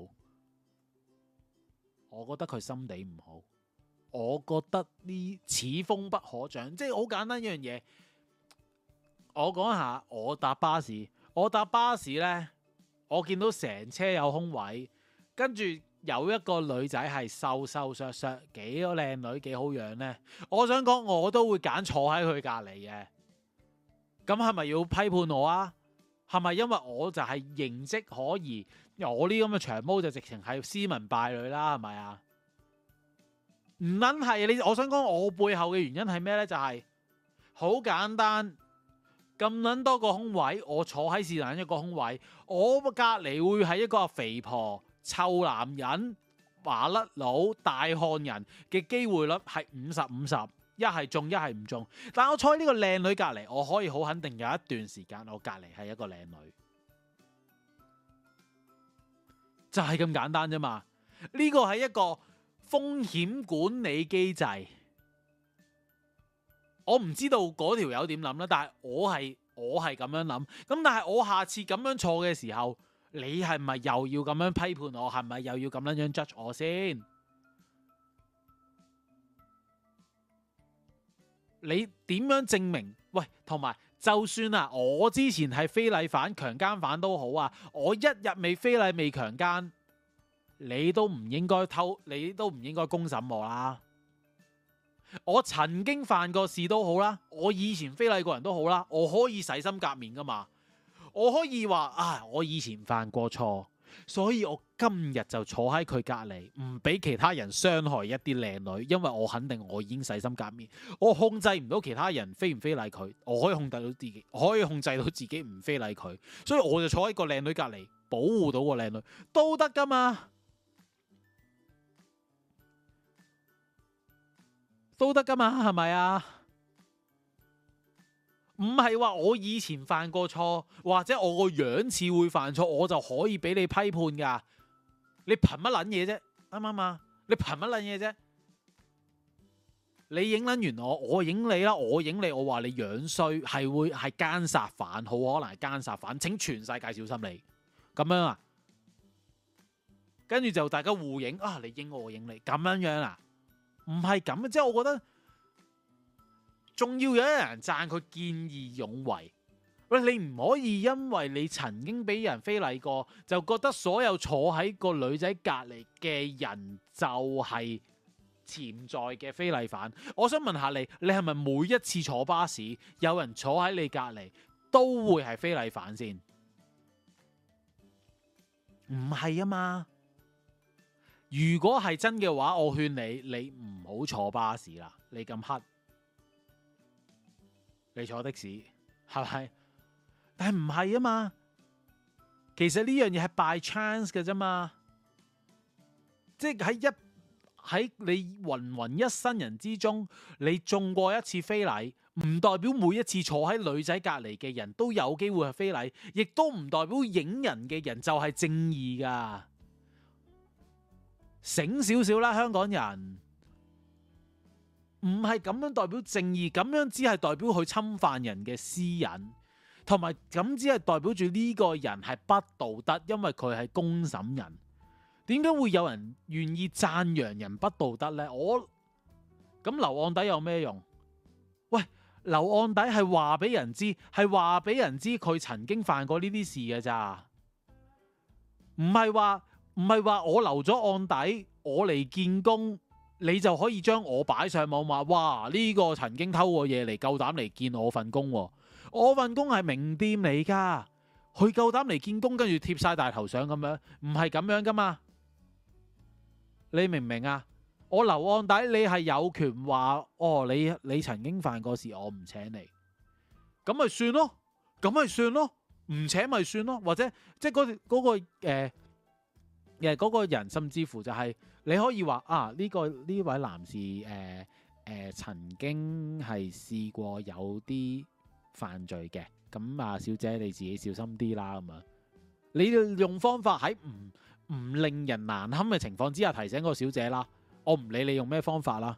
我覺得佢心地唔好。我覺得呢此風不可長，即係好簡單一樣嘢。我講下，我搭巴士呢，我見到成車有空位，跟住有一個女仔係瘦瘦削削，幾個靚女，幾好樣呢。我想講，我都會揀坐喺佢隔離嘅。咁係咪要批判我啊？係咪因為我就係形跡可疑？我呢咁嘅長毛就直情係斯文敗類啦，係咪啊？唔撚係，我想講我背後嘅原因係咩呢？就係好簡單，咁撚多個空位，我坐喺是但一個空位，我隔離會係一個肥婆、臭男人， 麻甩佬、大漢人嘅機會率係50-50，一係中一係唔中。但我坐喺呢個靚女隔離，我可以好肯定有一段時間我隔離係一個靚女，就係咁簡單啫嘛。呢個係一個風險管理機制。我唔知道嗰條友點諗啦，但係我係咁樣諗。咁但係我下次咁樣坐嘅時候，你係咪又要咁樣批判我？係咪又要咁樣 judge 我先？你點樣證明？喂，同埋就算啊，我之前係非禮犯、強姦犯都好啊，我一日未非禮未強姦，你都唔應該公審我啦。我曾經犯過事都好啦，我以前非禮過人都好啦，我可以洗心革面噶嘛。我可以話我以前犯過錯，所以我今日就坐喺佢隔離，唔俾其他人傷害一啲靚女，因為我肯定我已經洗心革面。我控制唔到其他人非唔非禮佢，我可以控制到自己，我可以控制到自己唔非禮佢，所以我就坐喺個靚女隔離，保護到個靚女都得噶嘛。都得噶嘛，係咪啊？唔係話我以前犯過錯，或者我個樣似會犯錯，我就可以俾你批判噶。你憑乜撚嘢啫？啱唔啱啊？你憑乜撚嘢啫？你影撚完我影你啦，我影你，我話你樣衰，係奸殺犯，好可能係奸殺犯，請全世界小心你。咁樣啊？跟住就大家互影啊，你影我影你，咁樣啊？唔係咁，即係我覺得仲要有人讚佢見義勇為。喂，你唔可以因為你曾經俾人非禮過，就覺得所有坐喺個女仔隔離嘅人就係潛在嘅非禮犯。我想問下你係咪每一次坐巴士有人坐喺你隔離都會係非禮犯先？唔係啊嘛。如果係真嘅話，我勸你唔好坐巴士啦。你咁黑，你坐的士係咪？但係唔係啊嘛。其實呢樣嘢係 by chance 嘅啫嘛。即係喺你芸芸一生人之中，你中過一次非禮，唔代表每一次坐喺女仔隔離嘅人都有機會係非禮，亦都唔代表影人嘅人就係正義㗎。醒少少啦，香港人唔係咁樣代表正義，咁樣只係代表佢侵犯人嘅私隱，同埋咁只係代表住呢個人係不道德，因為佢係公審人。點解會有人願意讚揚人不道德呢？咁留案底有咩用？喂，留案底係話俾人知，佢曾經犯過呢啲事嘅咋，唔係話我留咗案底，我嚟見工，你就可以將我擺上網話，哇，呢個曾經偷過嘢嚟，夠膽嚟見我份工。我份工係名店嚟噶，佢夠膽嚟見工，跟住貼晒大頭相咁樣，唔係咁樣噶嘛？你明唔明啊？我留案底，你係有權話，你曾經犯過事，我唔請你，咁咪算咯，唔請咪算咯，或者即係嗰個人，甚至乎就係你可以話呢位男士曾經係試過有啲犯罪嘅，咁小姐你自己小心啲啦咁啊！你用方法喺唔令人難堪嘅情況之下提醒個小姐啦，我唔理你用咩方法啦，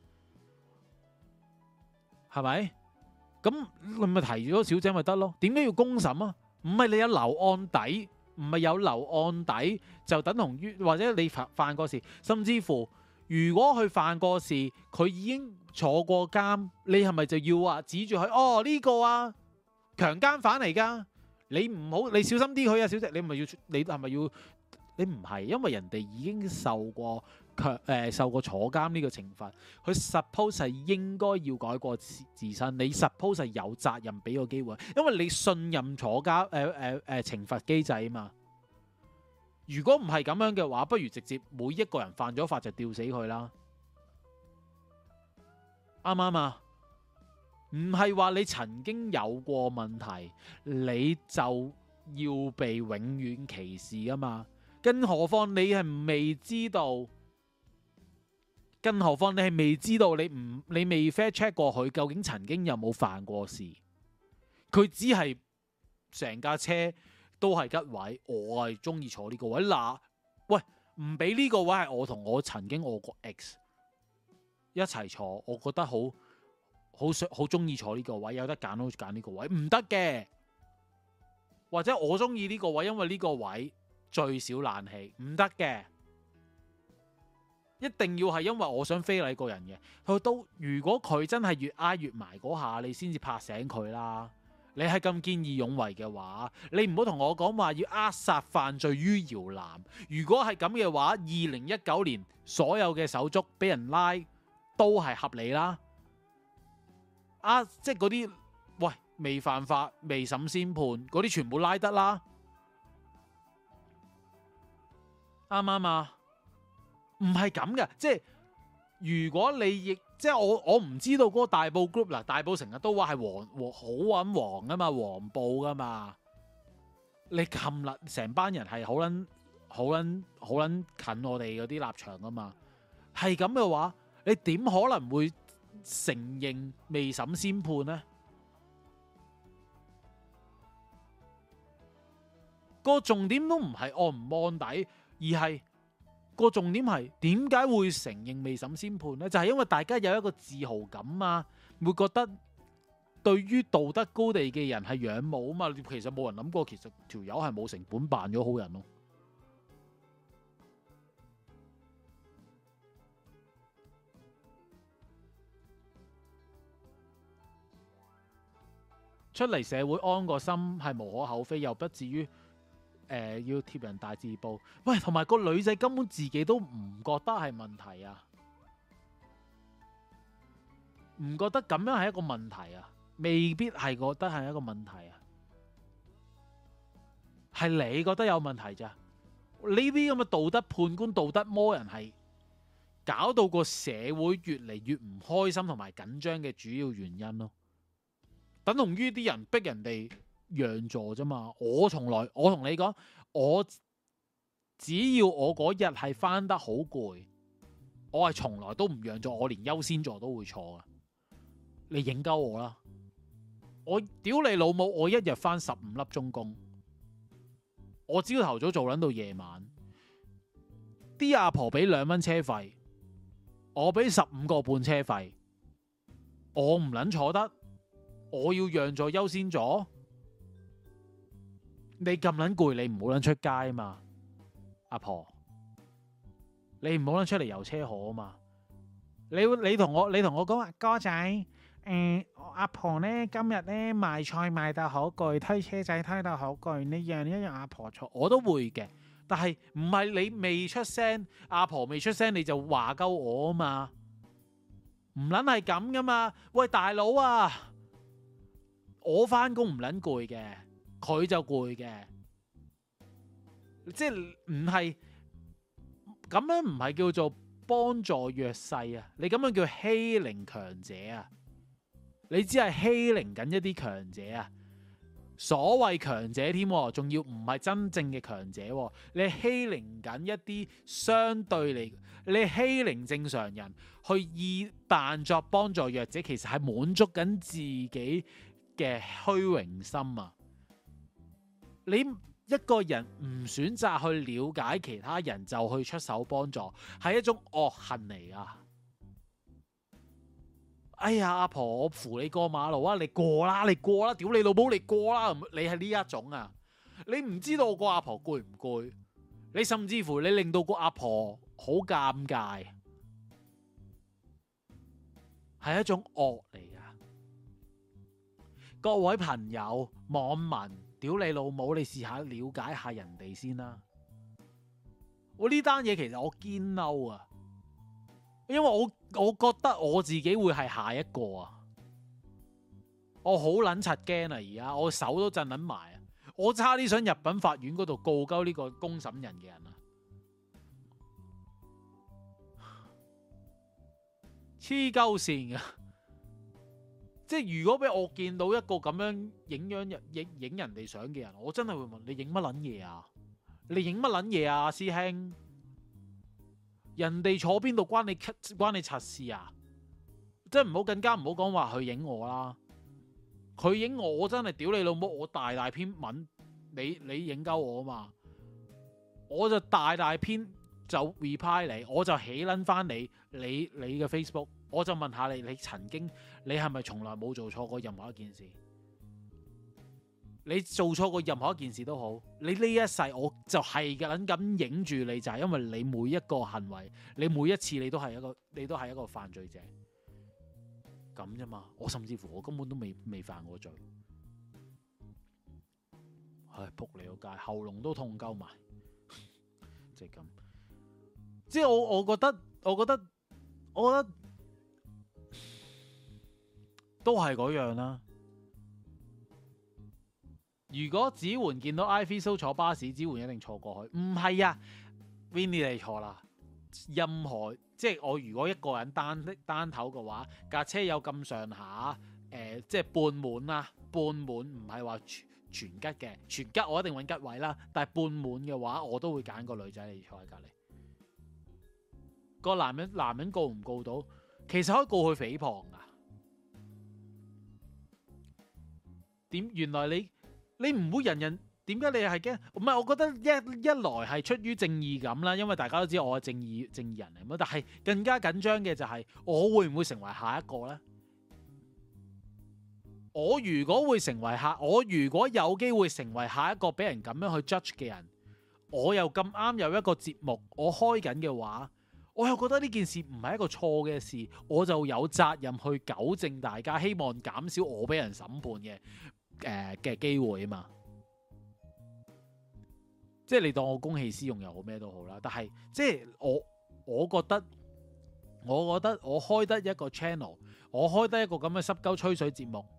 係咪？咁你咪提咗小姐咪得咯？點解要公審啊？唔係你有留案底。唔係有留案底就等同於，或者你犯過事，甚至乎如果佢犯過事，佢已經坐過監，你係咪就要話指住佢？呢個強姦犯嚟㗎，你小心啲佢啊，小姐，你係咪要？你唔係，因為人哋已經受過坐監呢個懲罰，佢 suppose 係應該要改過自身，你 suppose 係有責任俾個機會，因為你信任坐監懲罰機制啊嘛。如果唔係咁樣嘅話，不如直接每一個人犯咗法就吊死佢啦，啱唔啱啊？唔係話你曾經有過問題，你就要被永遠歧視啊嘛。更何況你係未知道更何況你係未知道你未 fair check 過佢究竟曾經有冇犯過事，佢只係成架車都係吉位，我係中意坐呢個位。嗱，喂，唔俾呢個位係我同我曾經我個 ex 一齊坐，我覺得好中意坐呢個位，有得揀都揀呢個位，唔得嘅。或者我中意呢個位，因為呢個位最少冷氣，唔得嘅。一定要係因為我想非禮個人嘅。如果佢真係越挨越埋嗰下，你先至拍醒佢啦。你係咁見義勇為嘅話，你唔好同我講話要扼殺犯罪於搖籃。如果係咁嘅話，2019年所有嘅手足俾人拉都係合理啦。即係嗰啲喂未犯法、未審先判嗰啲，全部拉得啦，啱唔啱啊？唔係咁嘅，即係如果你亦即係我唔知道嗰個大埔 group 啦，大埔成日都話係黃好揾黃啊嘛，黃埔噶嘛，你冚啦，成班人係好撚近我哋嗰啲立場噶嘛，係咁嘅話，你點可能會承認未審先判呢？個重點都唔係按唔按底，而係個重點係點解會承認未審先判呢？就係因為大家有一個自豪感啊，會覺得對於道德高地嘅人係仰慕啊嘛。其實冇人諗過，其實條友係冇成本扮咗好人咯。出嚟社會安個心係無可厚非，又不至於要貼人大字報。喂，同埋個女仔根本自己都唔覺得係問題啊，唔覺得咁樣係一個問題啊，未必係覺得係一個問題啊，係你覺得有問題咋？呢啲咁嘅道德判官、道德魔人係搞到個社會越嚟越唔開心同埋緊張嘅主要原因咯。等同於啲人逼人哋讓座啫嘛。我同你講，我只要我嗰日係返得好攰，我係從來都唔讓座，我連優先座都會坐噶。你影鳩我啦！我屌你老母！我一日返15粒鐘工，我朝頭早做撚到夜晚，啲阿婆俾2蚊車費，我俾15個半車費，我唔撚坐得。我要讓座優先座，你咁撚攰，你唔好撚出街啊嘛，阿婆，你唔好撚出嚟遊車河啊嘛，你同我講話哥仔，阿婆呢今日呢賣菜賣得好攰，推車仔推得好攰，你讓一讓阿婆坐，我都會嘅，但係唔係你未出聲，阿婆未出聲你就話鳩我啊嘛，唔撚係咁噶嘛，喂大佬啊！我返工唔撚攰嘅，佢就攰嘅，即係唔係咁樣，唔係叫做幫助弱勢啊！你咁樣叫欺凌強者啊！你只係欺凌緊一啲強者啊！所謂強者添，仲要唔係真正嘅強者，你欺凌緊一啲相對嚟，你欺凌正常人，去以扮作幫助弱者，其實係滿足緊自己嘅虛榮心啊！你一個人唔選擇去了解其他人就去出手幫助，係一種惡行嚟啊！哎呀，阿婆，我扶你過馬路啊！你過啦，你過啦！屌你老母，你過啦！你係呢一種啊！你唔知道個阿婆攰唔攰？你甚至乎你令到個阿婆好尷尬，係一種惡嚟。各位朋友、網民，屌你老母！你試下了解下人哋先啦。我呢單嘢其實我堅嬲啊，因為我覺得我自己會係下一個啊。我好撚柒驚啊！而家我手都震撚埋啊！我差啲想入稟法院嗰度告鳩呢個公審人嘅人啊！黐鳩線㗎！即係如果俾我見到一個咁樣影人哋相嘅人，我真係會問你影乜撚嘢啊？你影乜撚嘢啊，師兄？ 人哋坐邊度關你柒事啊！即係更加唔好講話佢影我啦，佢影我真係屌你老母！我大篇文，你影鳩我啊嘛，我就大篇就 reply 你，我就起撚翻你嘅 Facebook， 我就問下你你係咪從來冇做錯過任何一件事？你做錯過任何一件事都好，你呢一世我就係咁影住你，就係因為你每一個行為，你每一次你都係一個犯罪者咁啫嘛。我甚至乎我根本都未犯過罪，唉，仆你個街，喉嚨都痛鳩埋，即係咁。即係我覺得都係嗰樣啦。如果子桓見到 Ivy So 坐巴士，子桓一定坐過去。唔係啊 Winnie 你錯啦。任何即係我如果一個人單頭嘅話，架車有咁上下，即係半滿啦，半滿唔係話全吉嘅，全吉我一定揾吉位啦。但係半滿嘅話，我都會揀個女仔嚟坐喺隔離。個男人告唔告到？其實可以告佢誹謗噶。原來你唔會人人，點解你係驚？唔係，我覺得一來係出於正義感啦，因為大家都知我係正義人嚟，但係更加緊張嘅就係我會唔會成為下一個呢？我如果有機會成為下一個俾人咁樣去 judge 嘅人，我又咁啱有一個節目我開緊嘅話，我又覺得呢件事唔係一個錯嘅事，我就有責任去糾正大家，希望減少我俾人審判嘅機會啊嘛。即係你當我公器私用又好咩都好啦，但係即係我覺得我開得一個 channel， 我開得一個咁嘅濕鳩吹水節目，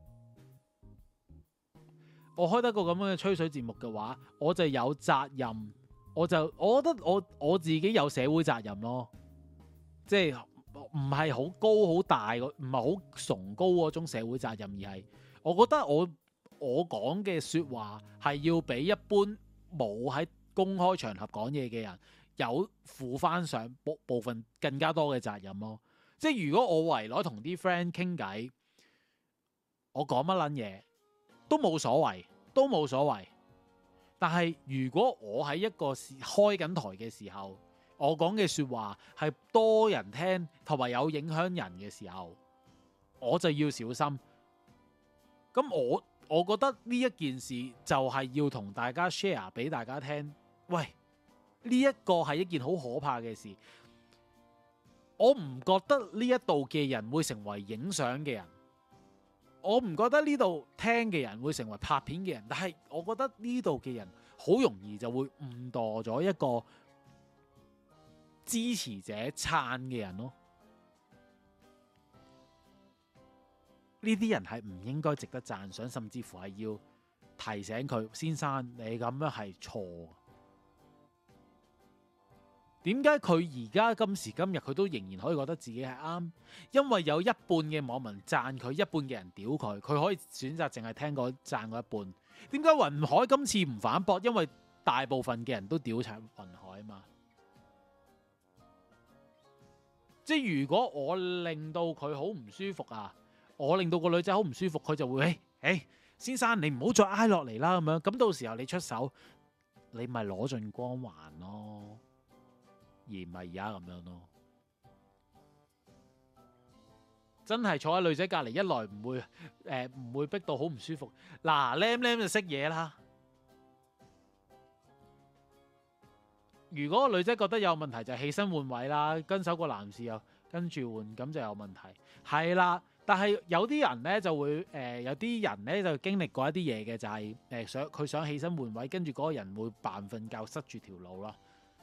我開得一個咁樣嘅吹水節目嘅話，我就有責任，我覺得我自己有社會責任咯。即係唔係好高好大，唔係好崇高嗰種社會責任，而係我覺得我講嘅說話係要比一般冇喺公開場合講嘢嘅人有負翻上部分更加多嘅責任咯。即係如果我圍內同啲 friend 傾偈，我講乜撚嘢都冇所謂。但係如果我喺一個開緊台嘅時候，我講嘅說話係多人聽同埋有影響人嘅時候，我就要小心。咁我覺得呢一件事就係要同大家 share 俾大家聽。喂，呢一個係一件好可怕嘅事。我唔覺得呢一度嘅人會成為影相嘅人，我唔覺得呢度聽嘅人會成為拍片嘅人，但係我覺得呢度嘅人好容易就會誤墮咗一個支持者撐嘅人咯。呢啲人係唔應該值得讚賞，甚至乎係要提醒佢，先生，你咁樣係錯。點解佢而家今時今日佢都仍然可以覺得自己係啱？因為有一半嘅網民讚佢，一半嘅人屌佢，佢可以選擇淨係聽嗰讚嗰一半。點解雲海今次唔反駁？因為大部分嘅人都屌齊雲海啊嘛。即係如果我令到佢好唔舒服啊，我令到個女仔好唔舒服，佢就會先生，你唔好再挨落嚟啦咁樣。咁到時候你出手，你咪攞盡光環咯。而唔係而家咁樣咯，真係坐喺女仔隔離，一來唔會逼到好唔舒服。嗱，Lam 就識嘢啦。如果個女仔覺得有問題，就起身換位啦，跟手個男士又跟住換，咁就有問題。係啦，但係有啲人咧就會有啲人咧就經歷過一啲嘢嘅，就係佢想起身換位，跟住嗰個人會扮瞓覺塞住條路咯。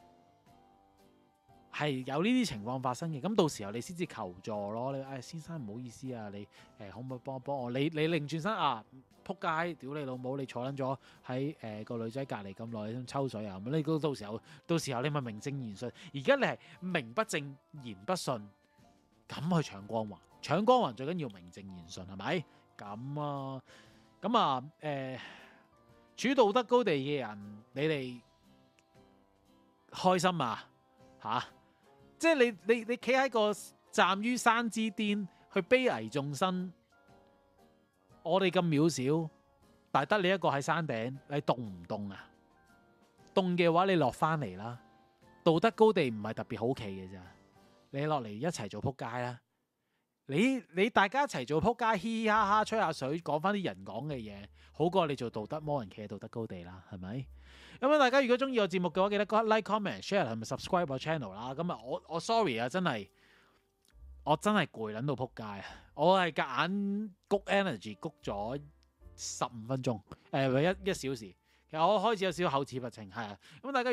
係有呢啲情況發生嘅，咁到時候你先至求助咯。你先生唔好意思啊，你可唔可以幫我？你擰轉身啊，撲街，屌你老母！你坐撚咗喺個女仔隔離咁耐，想抽水啊咁。你到時候你咪名正言順。而家你係名不正言不順，咁去搶光環，搶光環最緊要名正言順係咪？咁啊處道德高地嘅人，你哋開心啊嚇！即即係你企喺個站於山之巔去悲危眾生，我哋咁渺小，但係得你一個喺山頂，你凍唔凍啊？凍嘅話，你落翻嚟啦。道德高地唔係特別好企嘅咋，你落嚟一齊做撲街啦。你大家一齊做撲街，嘻嘻哈哈吹下水，講翻啲人講嘅嘢，好過你做道德魔人企喺道德高地啦，係咪？咁啊，大家如果中意我節目嘅話，記得 like、comment、share 同埋 subscribe 我 channel 啦。咁啊，我 sorry 啊，我真係攰撚到撲街啊！我係夾硬谷 energy 谷咗15分鐘，一小時。其實我開始有少少口齒不清，係啊。咁大家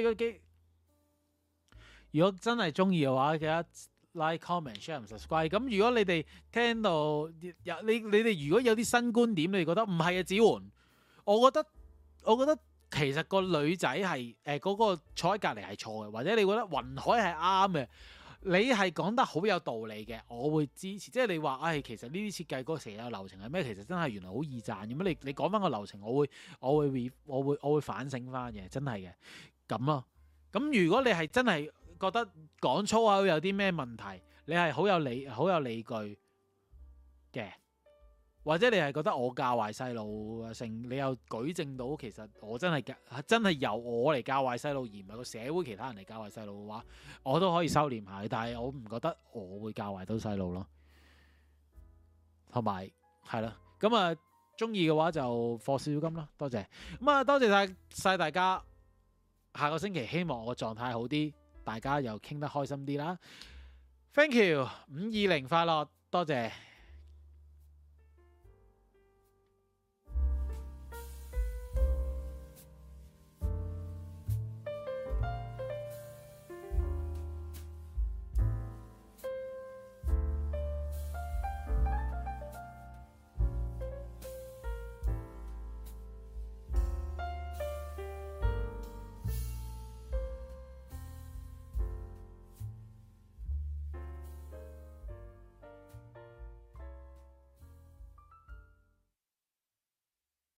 如果真係中意嘅話，記得 like、comment、share 同 subscribe。咁如果你哋聽到你哋如果有啲新觀點，你哋覺得唔係啊，子桓，我覺得其實個女仔係嗰個坐喺隔離係錯嘅，或者你覺得雲海係啱嘅，你係講得好有道理嘅，我會支持。即係你話，其實呢啲設計嗰個成日流程係咩？其實真係原來好易賺咁樣。你講翻個流程，我會反省翻嘅，真係嘅咁咯。咁如果你係真係覺得講粗口有啲咩問題，你係好有理據嘅，或者你係覺得我教壞細路你又舉證到其實我真係由我嚟教壞細路，而唔係個社會其他人嚟教壞細路嘅話，我都可以收斂下。但係我唔覺得我會教壞到細路咯。同埋係啦，咁啊中意嘅話就課少少金啦，多謝。咁啊多謝晒大家，下個星期希望我狀態好啲，大家又傾得開心啲啦。Thank you， 520快樂，多謝。